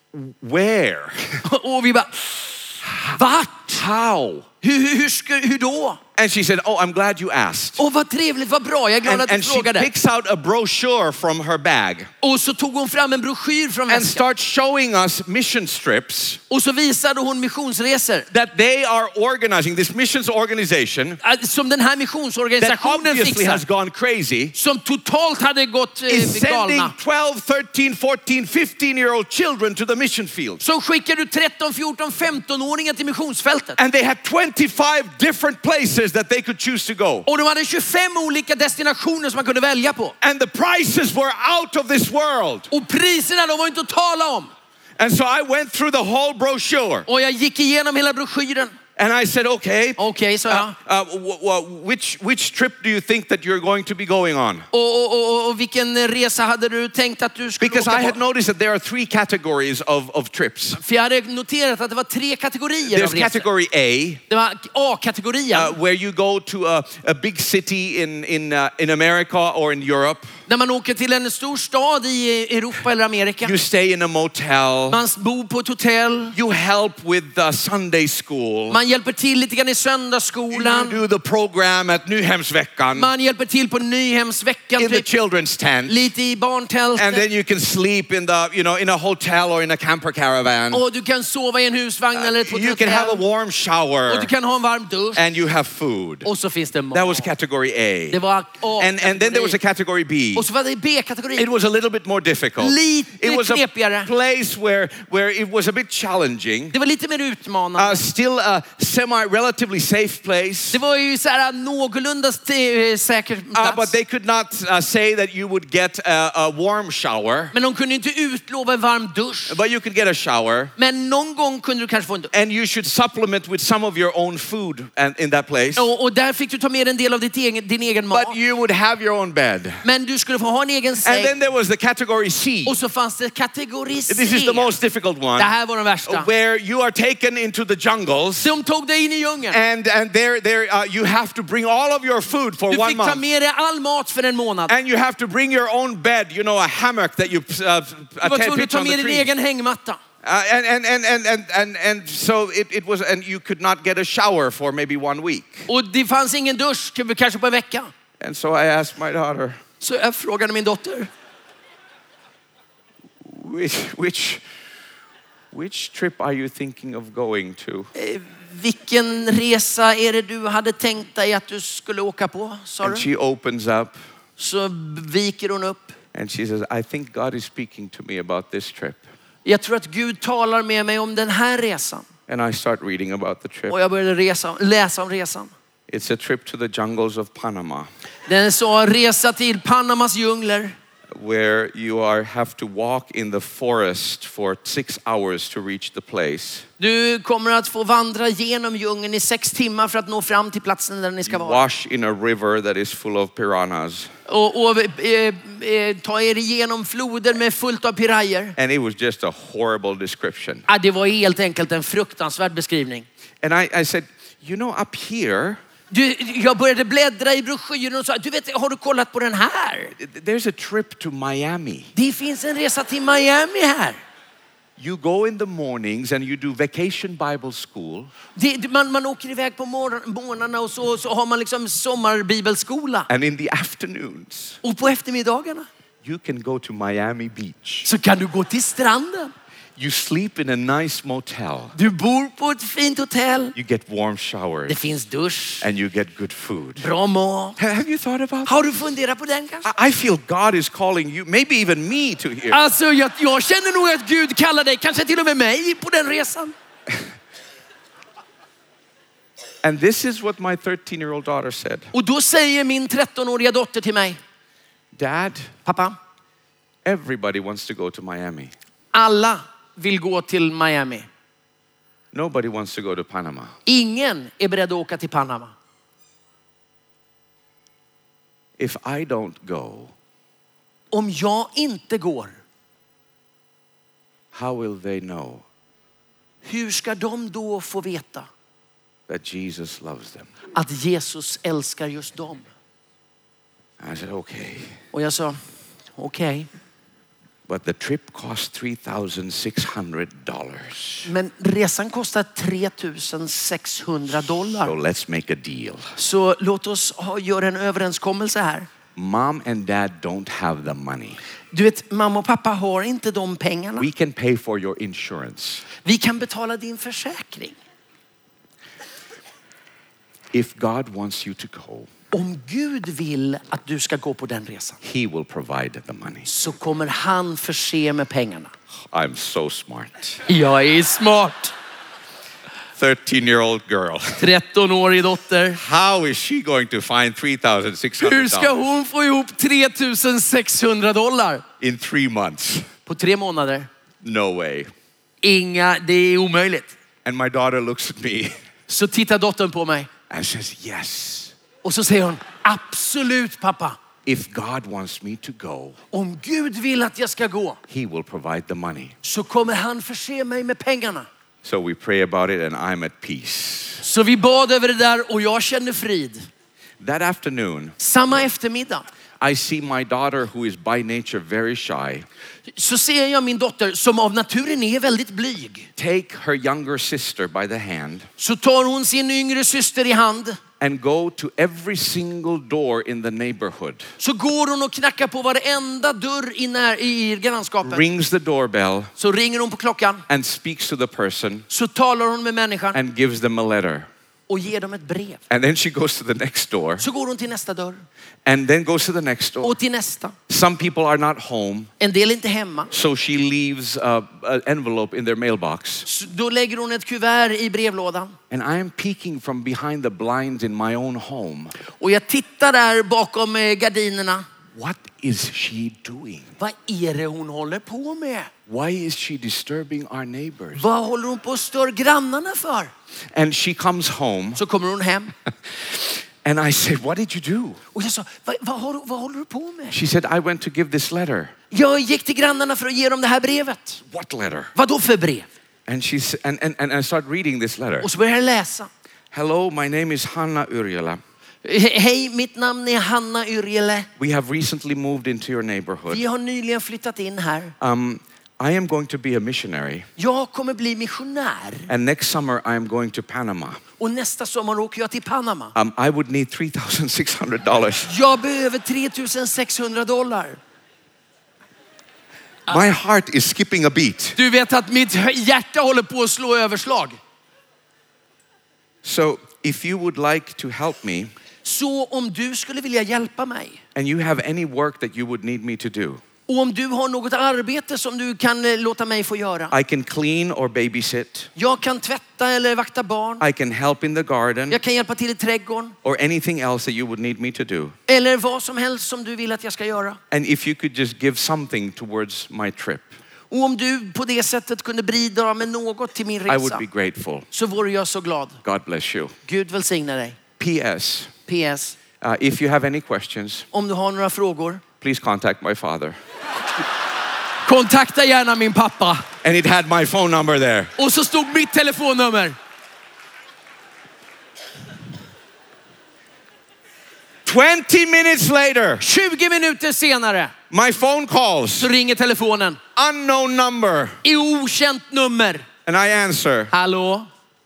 where? Och vi bara, vart? How? Hur, hur, hur, ska, hur då? And she said, oh, I'm glad you asked. Åh, vad trevligt, vad bra. Jag är glad And, att du and she frågade. picks out a brochure from her bag Och så tog hon fram en broschyr från and väskan. starts showing us mission trips Och så visade hon missionsresor. that they are organizing, this missions organization Äh, Som den här that missionsorganisationen obviously has fixar. gone crazy, Som totalt hade gått eh, is sending galna. twelve, thirteen, fourteen, fifteen year old children to the mission field. Så skickar du tretton, fjorton, femton-åringar till missionsfältet. And they had twenty-five different places that they could choose to go. Och de hade tjugofem olika destinationer som man kunde välja på. And the prices were out of this world. Och priserna, de var inte att tala om. And so I went through the whole brochure Och jag gick igenom hela broschyren. and I said, okay, Okej, sa jag. uh, uh, w- w- which, which trip do you think that you're going to be going on? Och, och, och, och vilken resa hade du tänkt att du skulle Because I åka had på? noticed that there are three categories of, of trips. För jag hade noterat att det var tre kategorier av There's resor. category A, Det var A-kategorien. uh, where you go to a, a big city in, in, uh, in America or in Europe. När man åker till en stor stad i Europa eller Amerika. You stay in a motel. Man bor på ett hotell. You help with uh, Sunday school. Man hjälper till lite grann i You söndagsskolan. do the program at Nyhemsveckan Man hjälper till på Nyhemsveckan, in the typ. children's tent. Lite i And barntältet. then you can sleep in the, you know, in a hotel or in a camper caravan. Och du kan sova i en husvagn eller på ett You can have a hotell. warm Och shower du kan ha en varm dusch. and you have food. Och så finns det mat. That was category A. Det var And, and then there was a category B. Och så var det B-kategori. It was a little bit more difficult. Lite It was a knepigare. place where, where it was a bit challenging. Det var lite mer utmanande. Uh, still a semi-relatively safe place. Det var ju så här någorlunda st- säker Uh, plats. but they could not uh, say that you would get a, a warm shower. Men de kunde inte utlova en varm dusch. But you could get a shower. Men någon gång kunde du kanske få en dusch. And you should supplement with some of your own food and, in that place. Och, och där fick du ta med en del av ditt egen, din egen mat. But you would have your own bed. Men du skulle få ha en egen And säng. then there was the category C. Och så fanns det kategori C. This is the most difficult Det one. här var den värsta. Where you are taken into the jungles. De tog dig in i djungeln. And, and there, there, uh, you have to bring all of your food for Du one fick ta month. med dig all mat för en månad. And you have to bring your own bed, you know, a hammock that you uh, Du var attach tvungen att ta on the med din tree. egen hängmatta. Uh, and, and, and, and, and, and, and so it, it was, and you could not get a shower for maybe one week. Och det fanns ingen dusch, kanske på en vecka. And so I asked my daughter, Så jag frågade min dotter. which, which, which trip are you thinking of going to? Eh, vilken resa är det du hade tänkt dig att du skulle åka på, sa And du? she opens up Så viker hon upp. and she says, I think God is speaking to me about this trip. Jag tror att Gud talar med mig om den här resan. And I start reading about the trip. Och jag började resa, läsa om resan. It's a trip to the jungles of Panama, Den sa resa till Panamas djungler. where you are have to walk in the forest for six hours to reach the place. Du kommer att få vandra genom djungeln i sex timmar för att nå fram till platsen där ni ska You vara. wash in a river that is full of piranhas. Och, och eh, eh, ta er igenom floder med fullt av pirajer. And it was just a horrible description. Ah, det var helt enkelt en fruktansvärd beskrivning. And I, I said, you know, up here, Du, jag började bläddra i broschyren och sa, du vet, har du kollat på den här? there's a trip to Miami. Det finns en resa till Miami här. You go in the mornings and you do vacation Bible school. Det, man, man åker iväg på morgon, morgnarna och så, så har man liksom sommarbibelskola. And in the afternoons, Och på eftermiddagarna you can go to Miami Beach. så kan du gå till stranden. You sleep in a nice motel. Du bor på ett fint hotell. You get warm Det showers finns dusch, and you get good food. bra mat. Ha- Have you thought about that? Har du funderat på den kanske? I I feel God is calling you, maybe even me, to here. Alltså jag, jag känner nog att Gud kallar dig, kanske till och med mig, på den resan. And this is what my thirteen-year-old daughter said. Och då säger min trettonåriga dotter till mig, Dad, pappa, everybody wants to go to Miami. alla vill gå till Miami. Nobody wants to go to Panama. Ingen är beredd att åka till Panama. If I don't go, Om jag inte går, how will they know hur ska de då få veta that Jesus loves them? att Jesus älskar just dem? I said, okay. Och jag sa, okej. But the trip cost three thousand six hundred dollars. Men resan kostar tre tusen sexhundra So dollar. let's make a deal. Så låt oss ha, göra en överenskommelse här. Mom and dad don't have the money. Du vet, mamma och pappa har inte de pengarna. We can pay for your insurance. Vi kan betala din försäkring. If God wants you to go, Om Gud vill att du ska gå på den resan he will provide the money. så kommer han förse med pengarna. I'm so smart. Jag är smart. thirteen-year-old girl. trettonårig dotter. How is she going to find three thousand six hundred Hur ska dollars hon få ihop tre tusen sexhundra dollar in three months? på tre månader? No way. Inga, det är omöjligt. And my daughter looks at me Så tittar dottern på mig and says, yes. och så säger hon, absolut pappa. If God wants me to go, Om Gud vill att jag ska gå he will provide the money. så kommer han förse mig med pengarna. So we pray about it and I'm at peace. Så vi bad över det där och jag kände frid. That afternoon, Samma eftermiddag I see my daughter, who is by nature very shy, så ser jag min dotter som av naturen är väldigt blyg. take her younger sister by the hand Så tar hon sin yngre syster i hand. and go to every single door in the neighborhood. Så går hon och knackar på varenda dörr i, när, i grannskapet. Rings the doorbell Så ringer hon på klockan. and speaks to the person Så talar hon med människan and gives them a letter. och ger dem ett brev. And then she goes to the next door Så går hon till nästa dörr and then goes to the next door. och till nästa. Some people are not home, En del är inte hemma. so she leaves a, an envelope in their mailbox. Så då lägger hon ett kuvert i brevlådan. And I am peeking from behind the blinds in my own home. Och jag tittar där bakom eh, gardinerna. What is she doing? Vad är det hon håller på med? Why is she disturbing our neighbors? Vad håller hon på att störa grannarna för? And she comes home Så kommer hon hem. and I say, what did you do? Och jag sa, vad, vad, har, du- vad håller du på med? She said, I went to give this letter. Jag gick till grannarna för att ge dem det här brevet. What letter? Vad då för brev? And she s- and, and, and I start reading this letter. Och så började jag läsa. Hello, my name is Hanna Yrjala. He- Hej, mitt namn är Hanna Yrjele. We have recently moved into your neighborhood. Vi har nyligen flyttat in här. Um, I am going to be a missionary. Jag kommer bli missionär. And next summer I am going to Panama. Och nästa sommar åker jag till Panama. Um, I would need three thousand six hundred dollars. Jag behöver tre tusen sexhundra dollar. My heart is skipping a beat. Du vet att mitt hjärta håller på att slå överslag. So if you would like to help me Så om du skulle vilja hjälpa mig and you have any work that you would need me to do, Och om du har något arbete som du kan eh, låta mig få göra. I can clean or babysit. Jag kan tvätta eller vakta barn. I can help in the garden. Jag kan hjälpa till i trädgården. Or anything else that you would need me to do. Eller vad som helst som du vill att jag ska göra. And if you could just give something towards my trip, Och om du på det sättet kunde bidra med något till min I would resa, be grateful. så vore jag så glad. God bless you. Gud välsigna dig. P S. P S. Uh, if you have any questions, Om du har några frågor, please contact my father. kontakta gärna min pappa. And it had my phone number there. Och så stod mitt telefonnummer. twenty minutes later, tjugo minuter senare my phone calls. så ringer telefonen. Unknown number. I okänt nummer. And I answer. Hallå?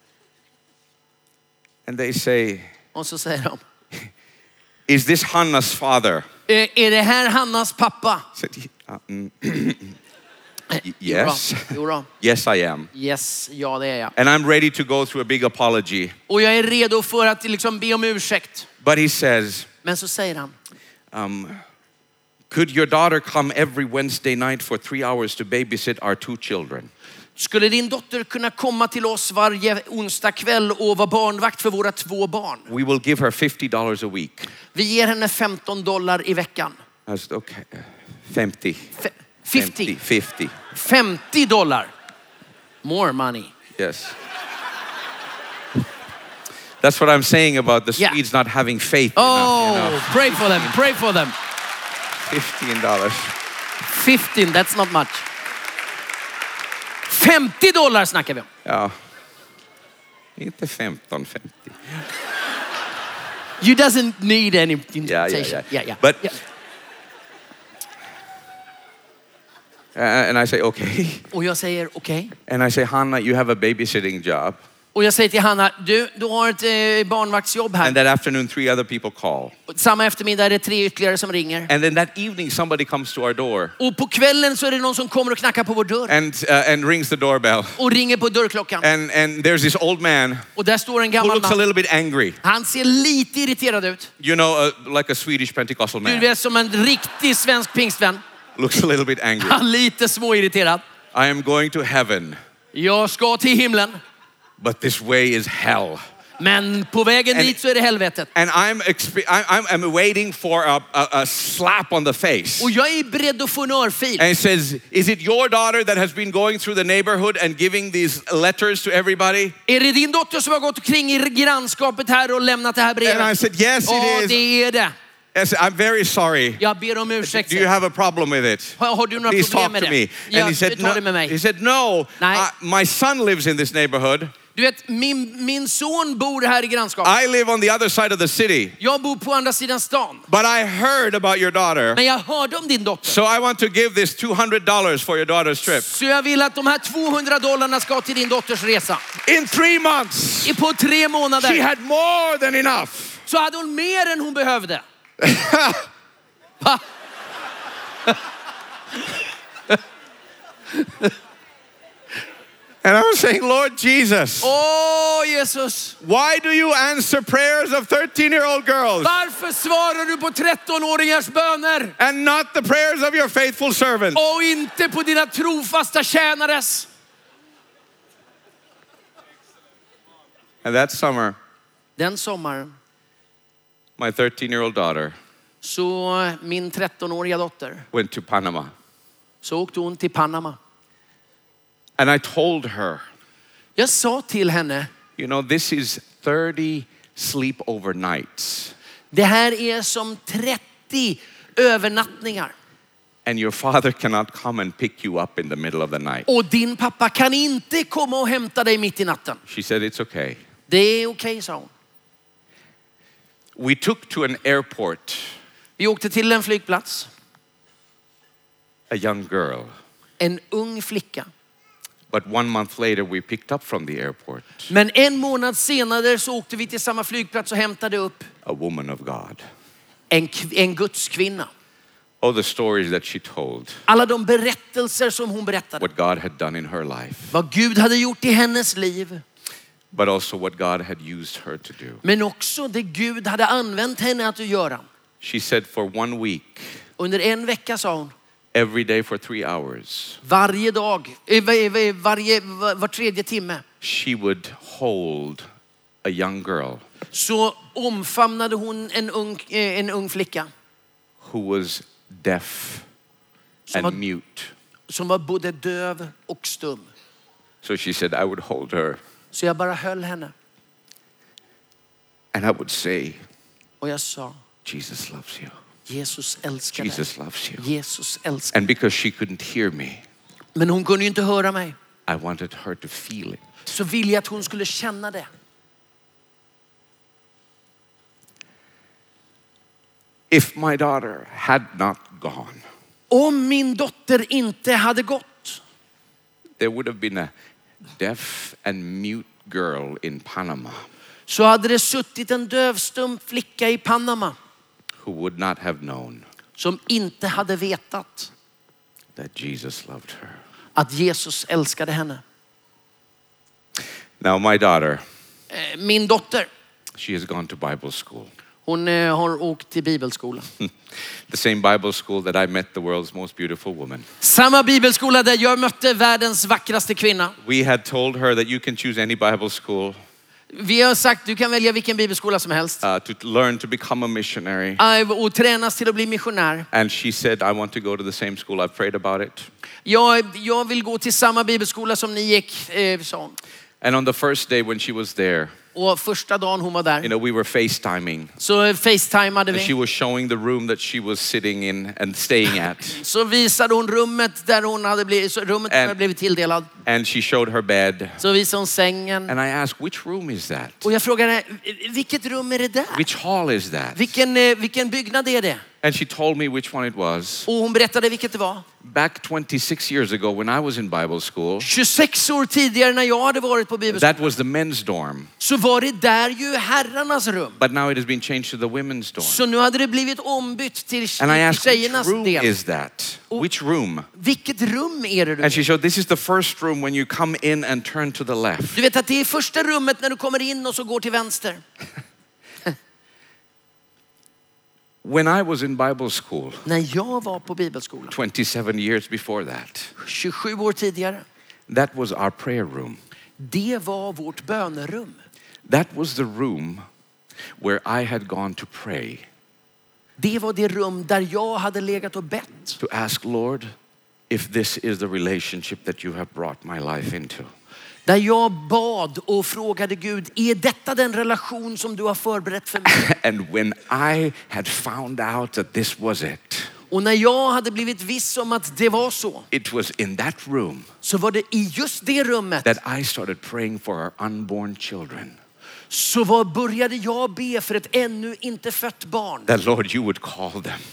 And they say, Och så säger de. is this Hannah's father? "Eh, Är det här Hannas pappa? I said, "Uh, mm, Jo yes. då, jo då. Yes, I am. Yes, ja det är jag. And I'm ready to go through a big apology. Och jag är redo för att liksom be om ursäkt. But he says, Men så säger han. um, could your daughter come every Wednesday night for three hours to babysit our two children? Skulle din dotter kunna komma till oss varje onsdag kväll och vara barnvakt för våra två barn? We will give her fifty dollars a week. Vi ger henne femton dollar i veckan. I said, okay, fifty. Fe- femtio. fifty. femtio dollar. More money. Yes. That's what I'm saying about the Yeah. Swedes not having faith Oh, enough. You know? pray for them, pray for them. Fifteen dollars. fifteen, that's not much. femtio dollar snackar vi om. Ja. Inte femton, femtio. You doesn't need any invitation. Yeah, yeah, yeah. yeah, yeah. But yeah. Uh, and I say, okay. Och jag säger okej. Okay. And I say, Hanna, you have a babysitting job. Och jag säger till Hanna, du, du har ett eh, barnvaktsjobb här. And that afternoon, three other people call. Samma eftermiddag är det tre ytterligare som ringer. And then that evening, somebody comes to our door. Och på kvällen så är det någon som kommer och knackar på vår dörr. And, uh, and rings the doorbell. Och ringer på dörrklockan. And, and there's this old man Och där står en who gammal looks a man. little bit angry. Han ser lite irriterad ut. You know, uh, like a Swedish Pentecostal Du man. vet, som en riktig svensk pingstvän. Looks a little bit angry. Han lite småirriterad. I am going to heaven, Jag ska till himlen. but this way is hell. Men på vägen And- dit så är det helvetet. And I'm, expe- I- I'm, I'm waiting for a, a, a slap on the face. Och jag är beredd att få en örfil. And it says, is it your daughter that has been going through the neighborhood and giving these letters to everybody? Är det din dotter som har gått omkring i grannskapet här och lämnat det här And I brevet? said, yes, Ja, it is. det är det. I said, I'm very sorry. Jag ber om ursäkt. Do you have a problem with it? Har, har du några Please problem talk med to det? me. Ja, And he said, ta det no. med mig. He said, no. Nej. Uh, my son lives in this neighborhood. Du vet, min, min son bor här i grannskapet. I live on the other side of the city. Jag bor på andra sidan stan. But I heard about your daughter. Men jag hörde om din dotter. So I want to give this two hundred dollars for your daughter's trip. Så jag vill att de här tvåhundra dollarna ska till din dotters resa. In three months, I- På tre she månader had more than enough. så hade hon mer än hon behövde. Va? And I was saying, Lord Jesus, Åh Jesus, why do you answer prayers of thirteen-year-old girls varför svarar du på trettonåringars böner and not the prayers of your faithful servants? och inte på dina trofasta tjänares? And that summer, Den sommaren my thirteen-year-old daughter så min trettonåriga dotter went to Panama. så åkte hon till Panama. And I told her, Jag sa till henne, you know, this is thirty sleepover nights. det här är som trettio övernattningar. And your father cannot come and pick you up in the middle of the night. Och din pappa kan inte komma och hämta dig mitt i natten. She said, it's okay. Det är okej, sa hon. We took to an airport Vi åkte till en flygplats. a young girl. En ung flicka. But one month later, we picked up from the airport Men en månad senare så åkte vi till samma flygplats och hämtade upp a woman of God. en, en Guds kvinna. Oh, the stories that she told, Alla de berättelser som hon berättade. what God had done in her life, Vad Gud hade gjort i hennes liv. but also what God had used her to do. Men också det Gud hade använt henne att göra. She said for one week, Under en vecka, sa hon, every day for three hours, Varje dag, eh, var- varje, var var tredje timme, she would hold a young girl så omfamnade hon en ung, eh, en ung flicka who was deaf som and var, mute. som var både döv och stum. So she said, I would hold her Så jag bara höll henne and I would say, och jag sa, Jesus loves you. Jesus älskar dig. Jesus loves you. Jesus älskar. And because she couldn't hear me, Men hon kunde ju inte höra mig. I wanted her to feel it. Så ville jag att hon skulle känna det. If my daughter had not gone, Om min dotter inte hade gått, there would have been a deaf and mute girl in Panama så hade det suttit en dövstum flicka i Panama who would not have known som inte hade vetat that Jesus loved her. att Jesus älskade henne. Now my daughter, Eh, Min dotter, she has gone to Bible school. hon eh, har åkt till bibelskola. The same Bible school that I met the world's most beautiful woman. Samma bibelskola där jag mötte världens vackraste kvinna. We had told her that you can choose any Bible school Vi har sagt du kan välja vilken bibelskola som helst. uh, to learn to become a missionary. Eh, Och tränas till att bli missionär. And she said, I want to go to the same school. I've prayed about it. Jag, jag vill gå till samma bibelskola som ni gick, eh, sa hon. And on the first day when she was there, Och första dagen hon var you där know, we were FaceTiming. så facetimade And she vi. was showing the room that she was sitting in and staying at. Så visade hon rummet där hon hade blivit, så rummet där hon hade blivit tilldelad. And she showed her bed. Så visade hon sängen. And I asked, which room is that? Och jag frågade, vilket rum är det där? Which hall is that? Vilken, eh, vilken byggnad är det? And she told me which one it was. Och hon berättade vilket det var. Back twenty-six years ago when I was in Bible school, tjugosex år tidigare när jag hade varit på bibelskolan that was the men's dorm. så var det där ju herrarnas rum. But now it has been changed to the women's dorm. Så nu hade det blivit ombytt till And I asked, which tjejernas room del. is that? Which room? Vilket rum är det du And she är? showed, this is the first room when you come in and turn to the left. Du vet att det är första rummet när du kommer in och så går till vänster. When I was in Bible school, När jag var på bibelskolan, twenty-seven years before that, tjugosju år tidigare, that was our prayer room. det var vårt bönerum. That was the room where I had gone to pray, Det var det rum där jag hade legat och bett. to ask, Lord, if this is the relationship that you have brought my life into. Där jag bad och frågade Gud, är detta den relation som du har förberett för mig? And when I had found out that this was it, Och när jag hade blivit viss om att det var så, it was in that room så var det i just det rummet that I started praying for our unborn children. så var, började jag be för ett ännu inte fött barn. That, Lord, you would call them.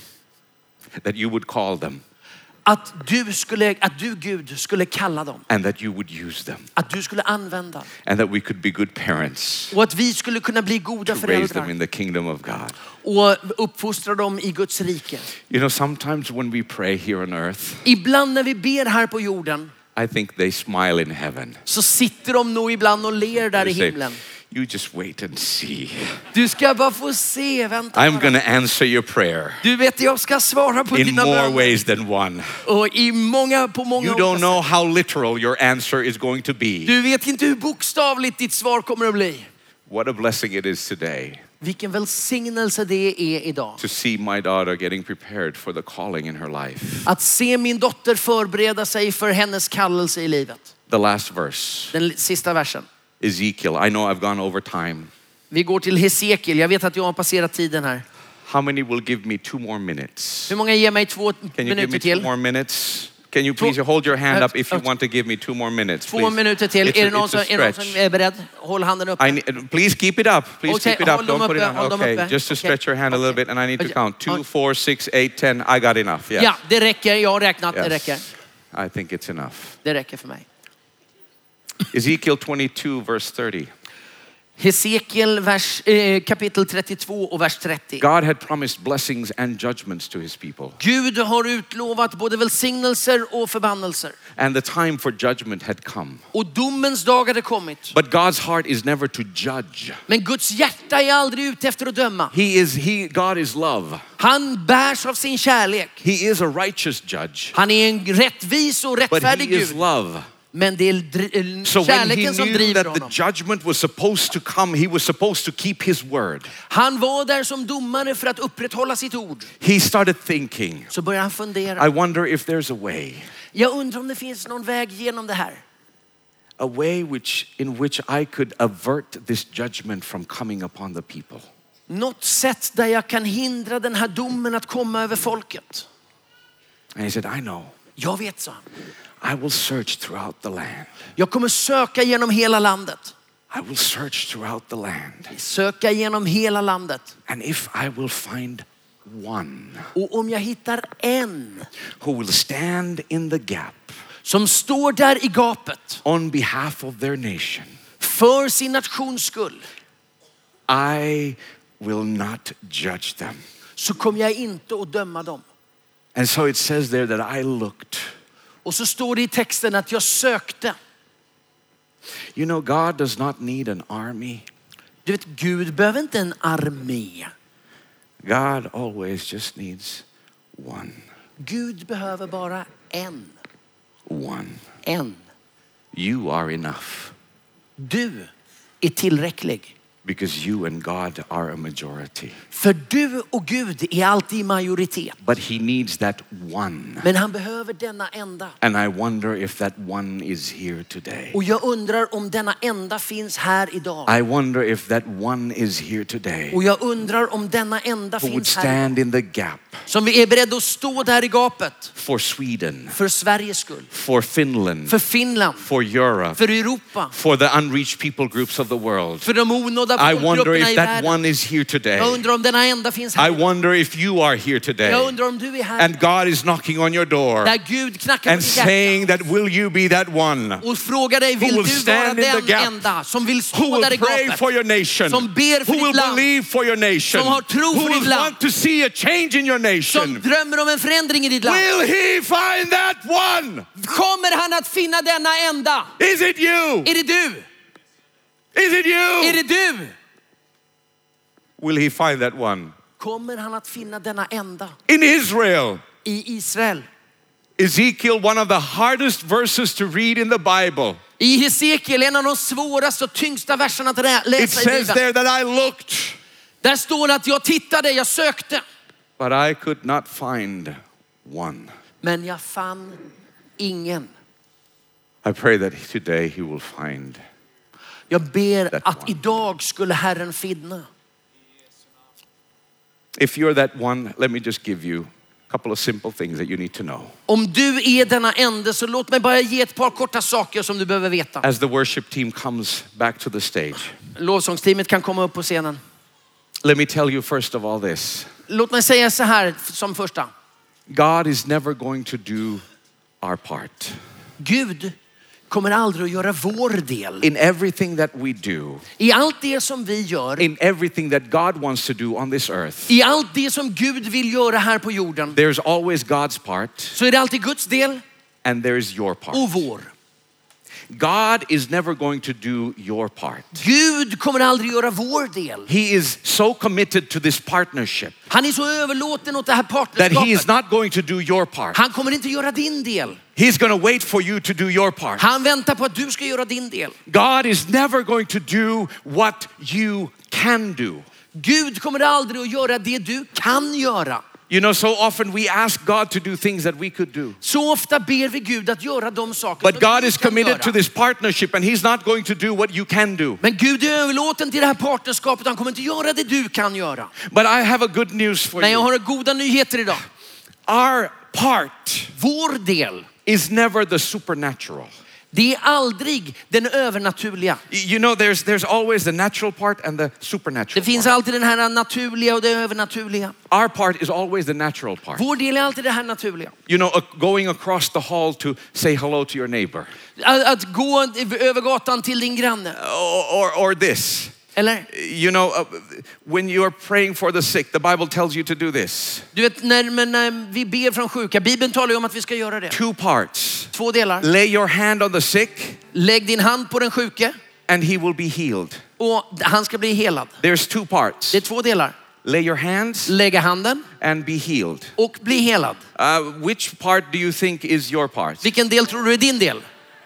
That you would call them. Att du skulle, att du Gud skulle kalla dem. And that you would use them. Att du skulle använda. And that we could be good parents Och att vi skulle kunna bli goda to raise them föräldrar. in the kingdom of God. Och uppfostra dem i Guds rike. You know, sometimes when we pray here on earth, Ibland när vi ber här på jorden I think they smile in heaven. så sitter de nog ibland och ler där i They say, himlen. you just wait and see. Du ska bara få se, vänta I'm bara. going to answer your prayer Du vet, jag ska svara på in dina more böner. ways than one. Och i många, på många You olika don't sätt. know how literal your answer is going to be. Du vet inte hur bokstavligt ditt svar kommer att bli. What a blessing it is today Vilken välsignelse det är idag. to see my daughter getting prepared for the calling in her life. Att se min dotter förbereda sig för hennes kallelse i livet. The last verse, Den sista versen. Ezekiel. I know I've gone over time. Vi går till Hesekiel. Jag vet att jag har passerat tiden här. How many will give me two more minutes? Hur många ger mig två Can you give minuter me two till? more minutes? Can you please hold your hand up if you want to give me two more minutes? Två Please. minuter till. It's Är a- det någon it's som, a är det någon stretch. som är beredd? Håll handen uppe. I need, please keep it up. Please Okay, keep it up. hold them Don't put it uppe, on. hold them Okay, uppe. just to Okay. stretch your hand a little Okay. bit, and I need to Okay. count two, Okay. four, six, eight, ten. I got enough. Yes. Ja, det räcker. Jag har räknat. Det räcker. Yes. I think it's enough. Det räcker för mig. Ezekiel twenty-two, verse thirty. Hesekiel vers, eh, kapitel trettiotvå och vers trettio. God had promised blessings and judgments to his people. Gud har utlovat både välsignelser och förbannelser. And the time for judgment had come. Och domens dag hade kommit. But God's heart is never to judge. Men Guds hjärta är aldrig ute efter att döma. He is, he, God is love. Han bärs av sin kärlek. He is a righteous judge. Han är en rättvis och But rättfärdig he is Gud. love. Men det är dr- So when he kärleken som knew driver that the honom. judgment was supposed to come, he was supposed to keep his word. Han var där som domare för att upprätthålla sitt ord. He started thinking, Så började han fundera. I wonder if there's a way. Jag undrar om det finns någon väg genom det här. A way which, in which I could avert this judgment from coming upon the people. Något sätt där jag kan hindra den här domen att komma över folket. And he said, I know. Jag vet, så. I will search throughout the land. Jag kommer söka genom hela landet. I will search throughout the land. Söka genom hela landet. And if I will find one Och om jag hittar en who will stand in the gap som står där i gapet on behalf of their nation, för sin nations skull, I will not judge them. så kommer jag inte att döma dem. And so it says there that I looked. Och så står det i texten att jag sökte. You know, God does not need an army. Du vet, Gud behöver inte en armé. God always just needs one. Gud behöver bara en. One. En. You are enough. Du är tillräcklig. Because you and God are a majority. För du och Gud är alltid i majoritet. But he needs that one. Men han behöver denna enda. And I wonder if that one is here today. Och jag undrar om denna enda finns här idag. I wonder if that one is here today. Och jag undrar om denna enda Who would finns här stand in the gap som vi är beredda att stå där i gapet. for Sweden, För Sveriges skull. for Finland, För Finland. for Europe, För Europa. for the unreached people groups of the world. För de onådda I wonder folkgrupperna i if that världen. one is here today. Jag undrar om denna enda finns I här. wonder if you are here Jag today. undrar om du är här. And God is knocking on your door Där Gud knackar på and ditt hjärta. saying that will you be that one Och frågar dig, vill will du vara stand in the den gap? enda som vill who stå där i will pray gapet? for your nation, Som ber för who will ditt land. believe for your nation, Som har tro who för will ditt land. want to see a change in your Som nation. drömmer om en förändring i ditt land. Will he find that one? Kommer han att finna denna enda? Is it you? Är det du? Is it Är you? det du? Will he find that one? Kommer han att finna denna enda In Israel, i Israel? Ezekiel, one of the hardest verses to read in the Bible. I Hesekiel, en av de svåraste och tyngsta verserna att rä- It läsa i says Bibeln. there that I looked, Där står det att jag tittade, jag sökte. but I could not find one. Men jag fann ingen. I pray that today he will find. Jag ber That att one. idag skulle Herren finna. If you're that one, let me just give you a couple of simple things that you need to know. Om du är denna ände, så låt mig bara ge ett par korta saker som du behöver veta. As the worship team comes back to the stage, Lovsångsteamet kan komma upp på scenen. let me tell you first of all this. Låt mig säga så här som första. God is never going to do our part. Gud kommer aldrig att göra vår del. In everything that we do, I allt det som vi gör, in everything that God wants to do on this earth, i allt det som Gud vill göra här på jorden, there's always God's part så är det alltid Guds del and there's your part. och vår. God is never going to do your part. Gud kommer aldrig göra vår del. He is so committed to this partnership Han är så överlåten åt det här that he is partnerskapet. not going to do your part. Han kommer inte göra din del. He's going to wait for you to do your part. Han väntar på att du ska göra din del. God is never going to do what you can do. Gud kommer aldrig att göra det du kan göra. You know, so often we ask God to do things that we could do. Så ofta ber vi Gud att göra de saker But som God du is kan committed göra. to this partnership and he's not going to do what you can do. Men Gud är överlåten till det här partnerskapet. Han kommer inte göra det du kan göra. But I have a good news for Men jag you. har goda nyheter idag. Our part Vår del, is never the supernatural. det är aldrig den övernaturliga. You know, there's there's always the natural part and the supernatural Det finns part. alltid den här naturliga och det övernaturliga. Our part is always the natural part. Vår del är alltid det här naturliga. You know, uh, going across the hall to say hello to your neighbor. Att, att gå över gatan till din granne. Or, or, or this. Eller? You know, uh, when you are praying for the sick, the Bible tells you to do this. Du vet, när, men när vi ber från sjuka, Bibeln talar ju om att vi ska göra det. Two parts. Två delar. Lay your hand on the sick Lägg din hand på den sjuke and he will be healed. och han ska bli helad. There's two parts. Det är två delar. Lay your hands Lägga handen and be healed. och bli helad. Uh, which part do you think is your part? Vilken del tror du är din del?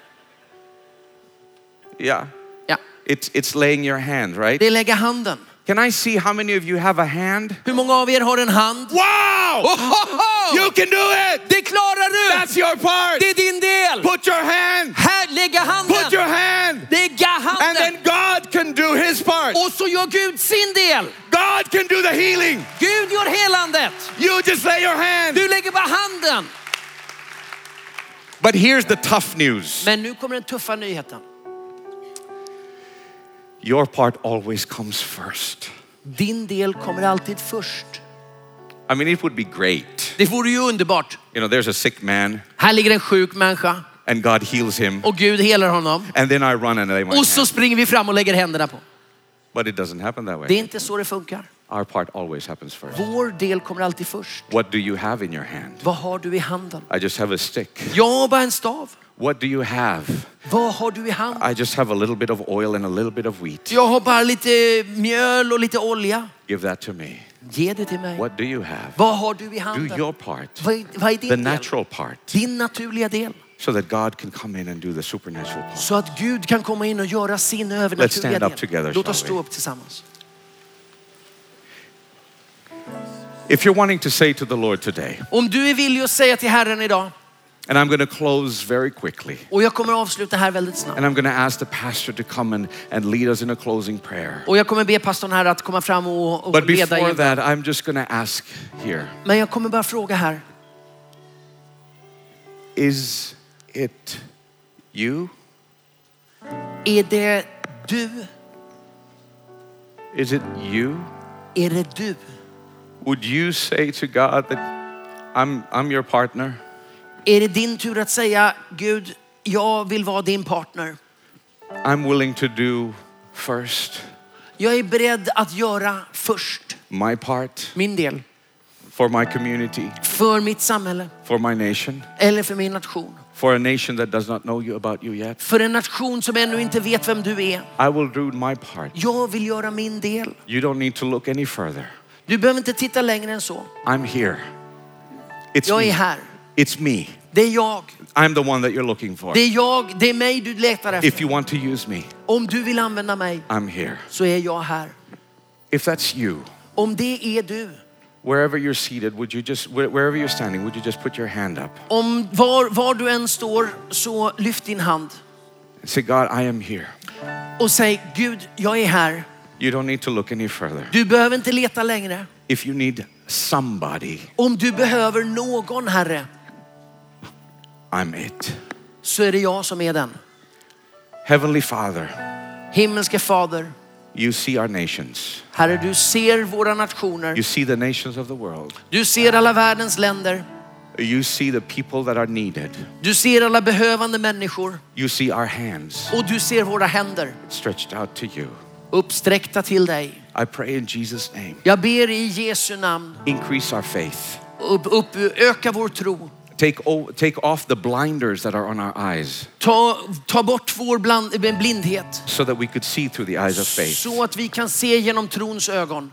Yeah. Ja, It's, it's laying your hand, right? det är lägga handen. Can I see how many of you have a hand? Hur många av er har en hand? Wow! Ohoho! You can do it! Det klarar du! That's your part! Det är din del! Put your hand! Här, lägga handen! Put your hand! Lägga And then handen! God can do his part. Och så gör Gud sin del. God can do the healing. Gud gör helandet. You just lay your hand. Du lägger bara handen. But here's the tough news. Men nu kommer den tuffa nyheten. Your part always comes first. Din del kommer alltid först. I mean, it would be great. Det vore ju underbart. You know, there's a sick man Här ligger en sjuk människa and God heals him. och Gud helar honom. And then I run and lay my Och så hand. springer vi fram och lägger händerna på. But it doesn't happen that Det är way. inte så det funkar. Our part always happens first. Vår del kommer alltid först. What do you have in your hand? Vad har du i handen? I just have a stick. Jag har bara en stav. What do you have? Vad har du i handen? I just have a little bit of oil and a little bit of wheat. Jag har bara lite mjöl och lite olja. Give that to me. Ge det till mig. What do you have? Vad har du i Do handen? your part. Vad är, vad är din The del? natural part. Din naturliga del. So that God can come in and do the supernatural part. Så att Gud kan komma in och göra sin Let's övernaturliga stand up del. together, Låt oss shall stå we? upp tillsammans. If you're wanting to say to the Lord today, Om du är villig att säga till Herren idag, and I'm going to close very quickly, och jag kommer avsluta här väldigt snabbt. and I'm going to ask the pastor to come and, and lead us in a closing prayer. Och jag kommer be pastorn här att komma fram och, och But leda before in. that, I'm just going to ask here, Men jag kommer bara fråga här. is it you? Är det du? Is it you? Är det du? Would you say to God that I'm, I'm your partner? Är det din tur att säga, Gud, jag vill vara din partner. I'm willing to do first Jag är beredd att göra först my part min del. for my community, För mitt samhälle. for my nation, Eller för min nation. for a nation that does not know you about you yet. För en nation som ännu inte vet vem du är. I will do my part. Jag vill göra min del. You don't need to look any further. Du behöver inte titta längre än så. I'm here. It's Jag är me. här. It's me. Det är jag. I'm the one that you're looking for. Det är jag. Det är mig du letar If efter. you want to use me, Om du vill använda mig I'm here. så är jag här. If that's you, Om det är du. wherever you're seated, would you just, where- wherever you're standing, would you just put your hand up Om var, var du än står så lyft din hand. and say, God, I am here. Och säg, Gud, jag är här. You don't need to look any further. Du behöver inte leta längre. If you need somebody, Om du behöver någon, Herre, I'm it. så är det jag som är den. Heavenly Father, Himmelske Fader, you see our nations. Herre, du ser våra You nationer. see the nations of the world. Du ser alla världens länder. You see the people that are needed. Du ser alla behövande människor. You see our hands Och du ser våra händer stretched out to you. uppsträckta till dig. I pray in Jesus' name. Jag ber i Jesu namn. Increase our faith. Upp, upp, öka vår tro. Take, o- take off the blinders that are on our eyes Ta, ta bort vår bland, blindhet. so that we could see through the eyes of faith. Så att vi kan se genom trons ögon.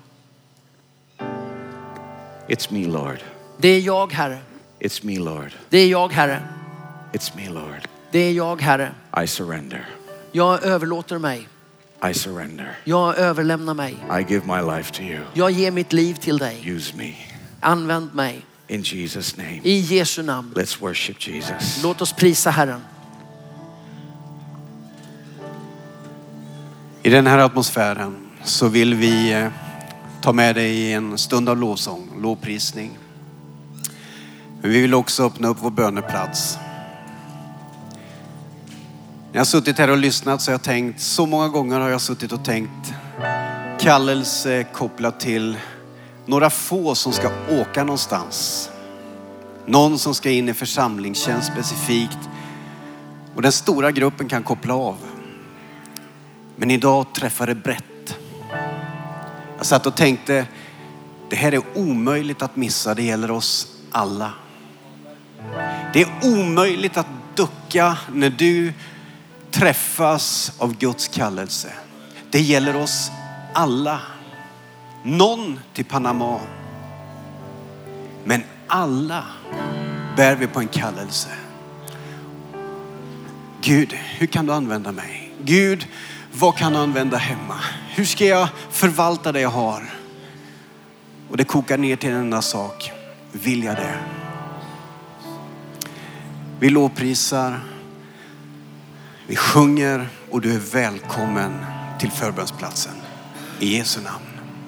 It's me, Lord. Det är jag, Herre. It's me, Lord. Det är jag, Herre. It's me, Lord. Det är jag, Herre. I surrender. Jag överlåter mig. I surrender. Jag överlämnar mig. I give my life to you. Jag ger mitt liv till dig. Use me. Använd mig. In Jesus' name. I Jesu namn. Let's worship Jesus. Låt oss prisa Herren. I den här atmosfären så vill vi eh, ta med dig i en stund av lovsång, lovprisning. Men vi vill också öppna upp vår böneplats. När jag har suttit här och lyssnat så har jag tänkt, så många gånger har jag suttit och tänkt kallelse kopplat till några få som ska åka någonstans. Någon som ska in i församlingstjänst specifikt. Och den stora gruppen kan koppla av. Men idag träffar det brett. Jag satt och tänkte, det här är omöjligt att missa. Det gäller oss alla. Det är omöjligt att ducka när du träffas av Guds kallelse. Det gäller oss alla. Någon till Panama. Men alla bär vi på en kallelse. Gud, hur kan du använda mig? Gud, vad kan du använda hemma? Hur ska jag förvalta det jag har? Och det kokar ner till en enda sak. Vill jag det? Vi lovprisar. Vi sjunger och du är välkommen till förbönsplatsen. I Jesu namn.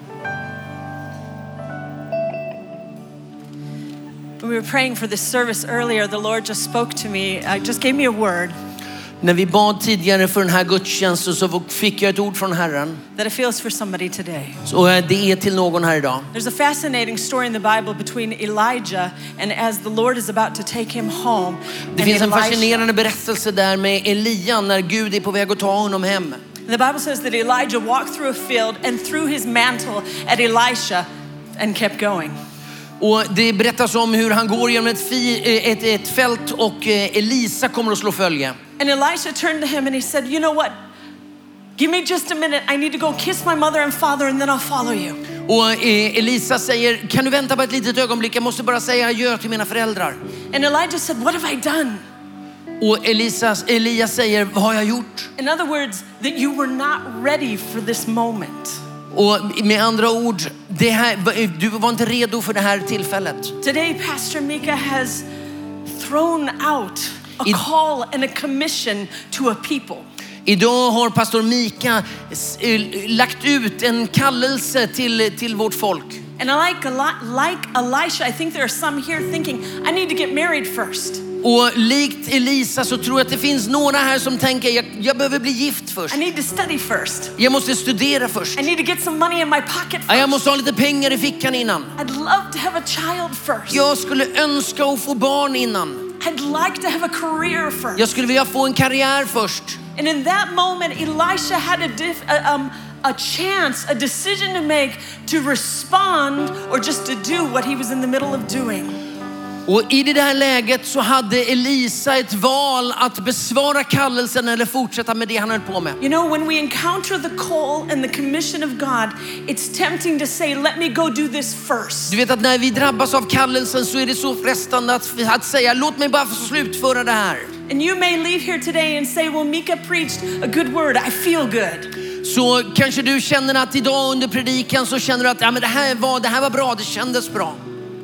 When we were praying for this service earlier, the Lord just spoke to me, uh, just gave me a word. När vi bad tidigare för den här gudstjänsten så fick jag ett ord från Herren. That it feels for somebody today. Så det är till någon här idag. There's a fascinating story in the Bible between Elijah and as the Lord is about to take him home. Det finns en fascinerande berättelse där med Elia när Gud är på väg att ta honom hem. The Bible says that Elijah walked through a field and threw his mantle at Elisha and kept going. Och det berättas om hur han går genom ett, fi, ett, ett fält och Elisa kommer att slå följe. And Elisha turned to him and he said, you know what? Give me just a minute. I need to go kiss my mother and father and then I'll follow you. Och Elisa säger, kan du vänta på ett litet ögonblick? Jag måste bara säga adjö till mina föräldrar. And Elijah said, what have I done? Och Elisa, Elias säger, vad har jag gjort? In other words, that you were not ready for this moment. Och med andra ord, det här, du var inte redo för det här tillfället. Today, Pastor Mika has thrown out a call and a commission to a people. Idag har pastor Mika lagt ut en kallelse till, till vårt folk. And like, like Elisha, I think there are some here thinking, I need to get married first. Och likt Elisa så tror jag att det finns några här som tänker, jag, jag behöver bli gift först. I need to study first. Jag måste studera först. I need to get some money in my pocket first. Jag måste ha lite pengar i fickan innan. I'd love to have a child first. Jag skulle önska att få barn innan. I'd like to have a career first. Jag skulle vilja få en karriär först. And in that moment, Elisha had a, diff, a, um, a chance, a decision to make to respond or just to do what he was in the middle of doing. Och i det här läget så hade Elisa ett val att besvara kallelsen eller fortsätta med det han höll på med. You know, when we encounter the call and the commission of God, it's tempting to say, let me go do this first. Du vet att när vi drabbas av kallelsen så är det så frestande att, att säga, låt mig bara få slutföra det här. And you may leave here today and say, well, Mika preached a good word. I feel good. Så kanske du känner att idag under predikan så känner du att ja, men det här var, det här var bra, det kändes bra.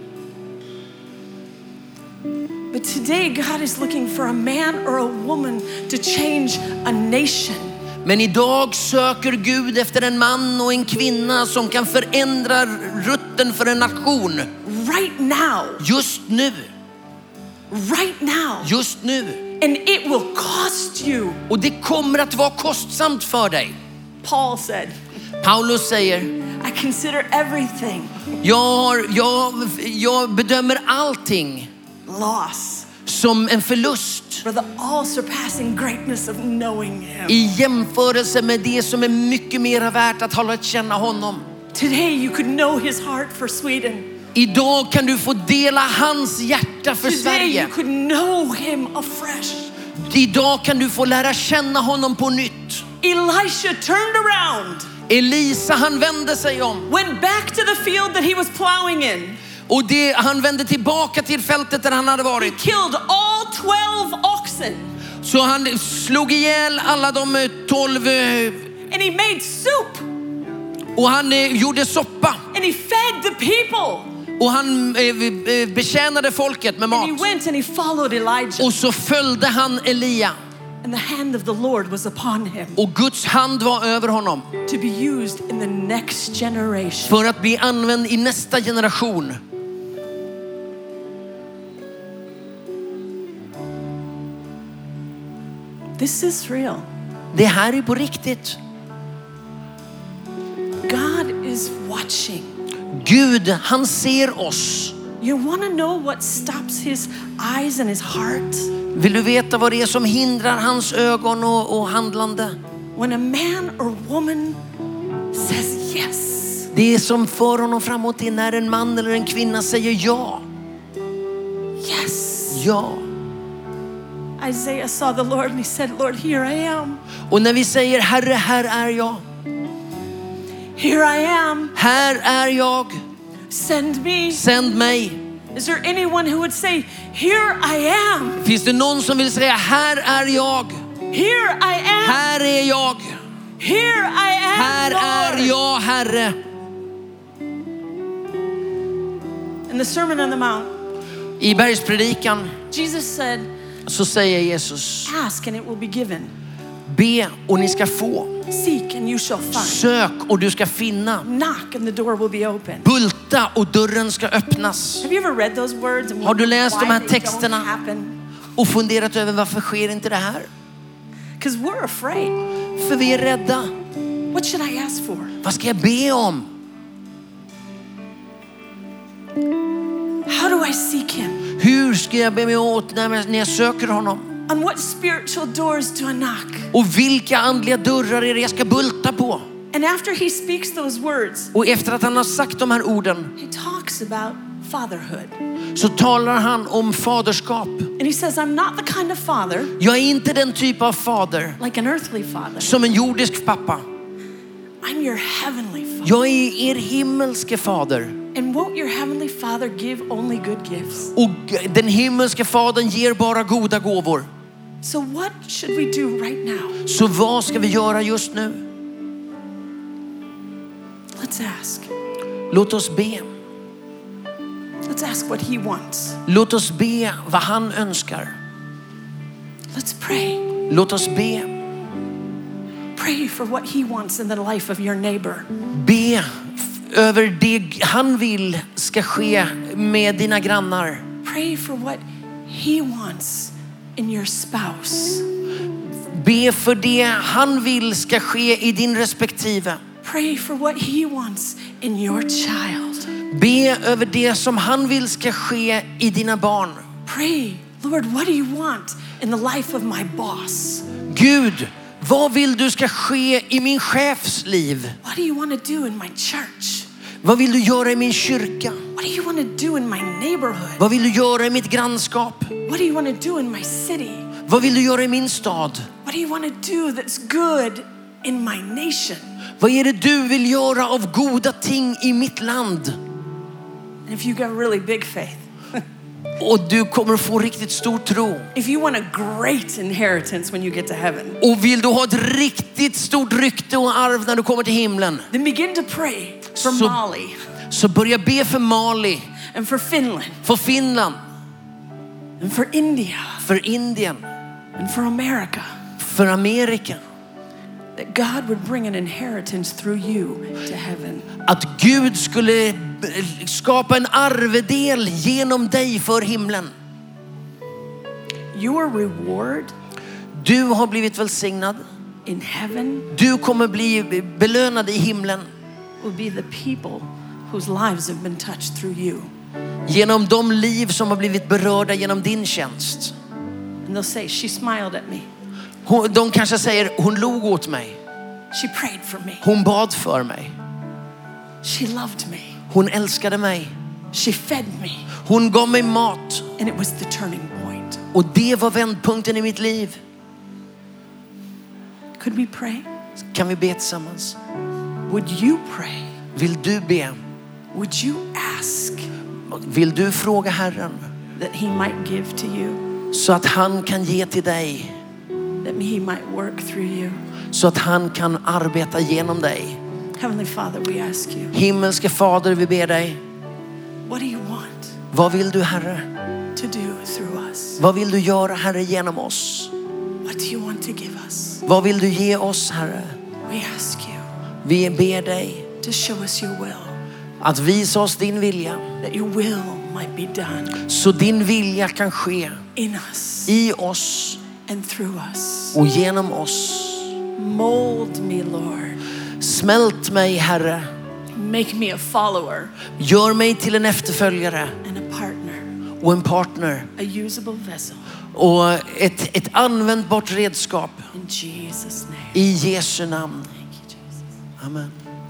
But today God is looking for a man or a woman to change a nation. Men idag söker Gud efter en man och en kvinna som kan förändra rutten för en nation. Right now. Just nu. Right now. Just nu. And it will cost you. Och det kommer att vara kostsamt för dig. Paul said. Paulus säger, I consider everything. Jag, har, jag, jag bedömer allting loss som en förlust for the all surpassing greatness of knowing him. I jämförelse med det som är mycket mer värt att hålla att känna honom. Today you could know his heart for Sweden. Idag kan du få dela hans hjärta för Today Sverige. you could know him afresh. Idag kan du få lära känna honom på nytt. Elisha turned around. Elisa, han vände sig om. Went back to the field that he was plowing in. Och det, han vände tillbaka till fältet där han hade varit. He killed all twelve oxen. Så han slog ihjäl alla de tolv. And he made soup. Och han eh, gjorde soppa. And he fed the people. Och han eh, betjänade folket med mat. And he went and he followed Elijah. Och så följde han Elia. And the hand of the Lord was upon him. Och Guds hand var över honom. To be used in the next generation. För att bli använd i nästa generation. This is real. Det här är på riktigt. God is watching. Gud, han ser oss. You want to know what stops his eyes and his heart? Vill du veta vad det är som hindrar hans ögon och, och handlande? When a man or woman says yes. Det som för honom framåt är när en man eller en kvinna säger ja. Yes. Ja. Isaiah saw the Lord and he said, Lord, here I am. Och när vi säger Herre, här är jag. Here I am. Här är jag. Send me. Sänd mig. Is there anyone who would say, here I am? Finns det någon som vill säga här är jag? Here I am. Här är jag. Here I am, Här är Lord. jag, Herre. In the Sermon on the Mount, I bergspredikan Jesus said, så säger Jesus: ask and it will be given. be och ni ska få. Seek and you shall find. Sök och du ska finna. Knock and the door will be open. Bulta och dörren ska öppnas. Have you ever read those words and Har du läst why de här they texterna? don't happen? Och funderat över varför sker inte det här? Because we're afraid. För vi är rädda. What should I ask for? Vad ska jag be om? How do I seek him? Hur ska jag be mig åt när jag, när jag söker honom? On what spiritual doors do I knock? Och vilka andliga dörrar är det jag ska bulta på? And after he speaks those words, Och efter att han har sagt de här orden he talks about fatherhood. så talar han om faderskap. And he says, I'm not the kind of father Jag är inte den typ av fader like an earthly father. som en jordisk pappa. I'm your heavenly father. Jag är er himmelske fader. And won't your heavenly father give only good gifts? Och den himmelske fadern ger bara goda gåvor. So what should we do right now? Så vad ska vi göra just nu? Let's ask. Låt oss be. Let's ask what he wants. Låt oss be vad han önskar. Let's pray. Låt oss be. Pray for what he wants in the life of your neighbor. Be f- över det han vill ska ske med dina grannar. Pray for what he wants in your spouse. Be för det han vill ska ske i din respektive. Pray for what he wants in your child. Be över det som han vill ska ske i dina barn. Pray, Lord, what do you want in the life of my boss? Gud, vad vill du ska ske i min chefs liv? What do you want to do in my church? Vad vill du göra i min kyrka? What do you want to do in my neighborhood? Vad vill du göra i mitt grannskap? What do you want to do in my city? Vad vill du göra i min stad? What do you want to do that's good in my nation? Vad är det du vill göra av goda ting i mitt land? And if you got really big faith, Och du kommer få riktigt stor tro. if you want a great inheritance when you get to heaven, Och vill du ha ett riktigt stort rykte och arv när du kommer till himlen, then begin to pray for So- Mali så börja be för Mali, and for Finland för Finland, and for India för Indien, and for America. för Amerika. That God would bring an inheritance through you to heaven. Att Gud skulle skapa en arvedel genom dig för himlen. Your reward Du har blivit välsignad. in heaven Du kommer bli belönad i himlen will be the people whose lives have been touched through you. genom de liv som har blivit berörda genom din tjänst. And they'll say, she smiled at me. Hon- De kanske säger, hon log åt mig. She prayed for me. Hon bad för mig. She loved me. Hon älskade mig. She fed me. Hon gav mig mat. And it was the turning point. Och det var vändpunkten i mitt liv. Could we pray? Kan vi be tillsammans? Would you pray? Vill du be? Would you ask Vill du fråga Herren that he might give to you? så att han kan ge till dig? That he might work through you? Så att han kan arbeta genom dig. Heavenly Father, we ask you, Himmelske Fader, vi ber dig. what do you want Vad vill du, Herre? to do through us? Vad vill du göra, Herre, genom oss? What do you want to give us? Vad vill du ge oss, Herre? We ask you Vi ber dig to show us your will, att visa oss din vilja. that your will might be done Så din vilja kan ske in us i oss and through us. och genom oss. Mold me, Lord. Smält mig, Herre. Make me a follower Gör mig till en efterföljare and a partner, och en partner. a usable vessel. Och ett, ett användbart redskap In Jesus' name. i Jesu namn. Thank you, Jesus. Amen.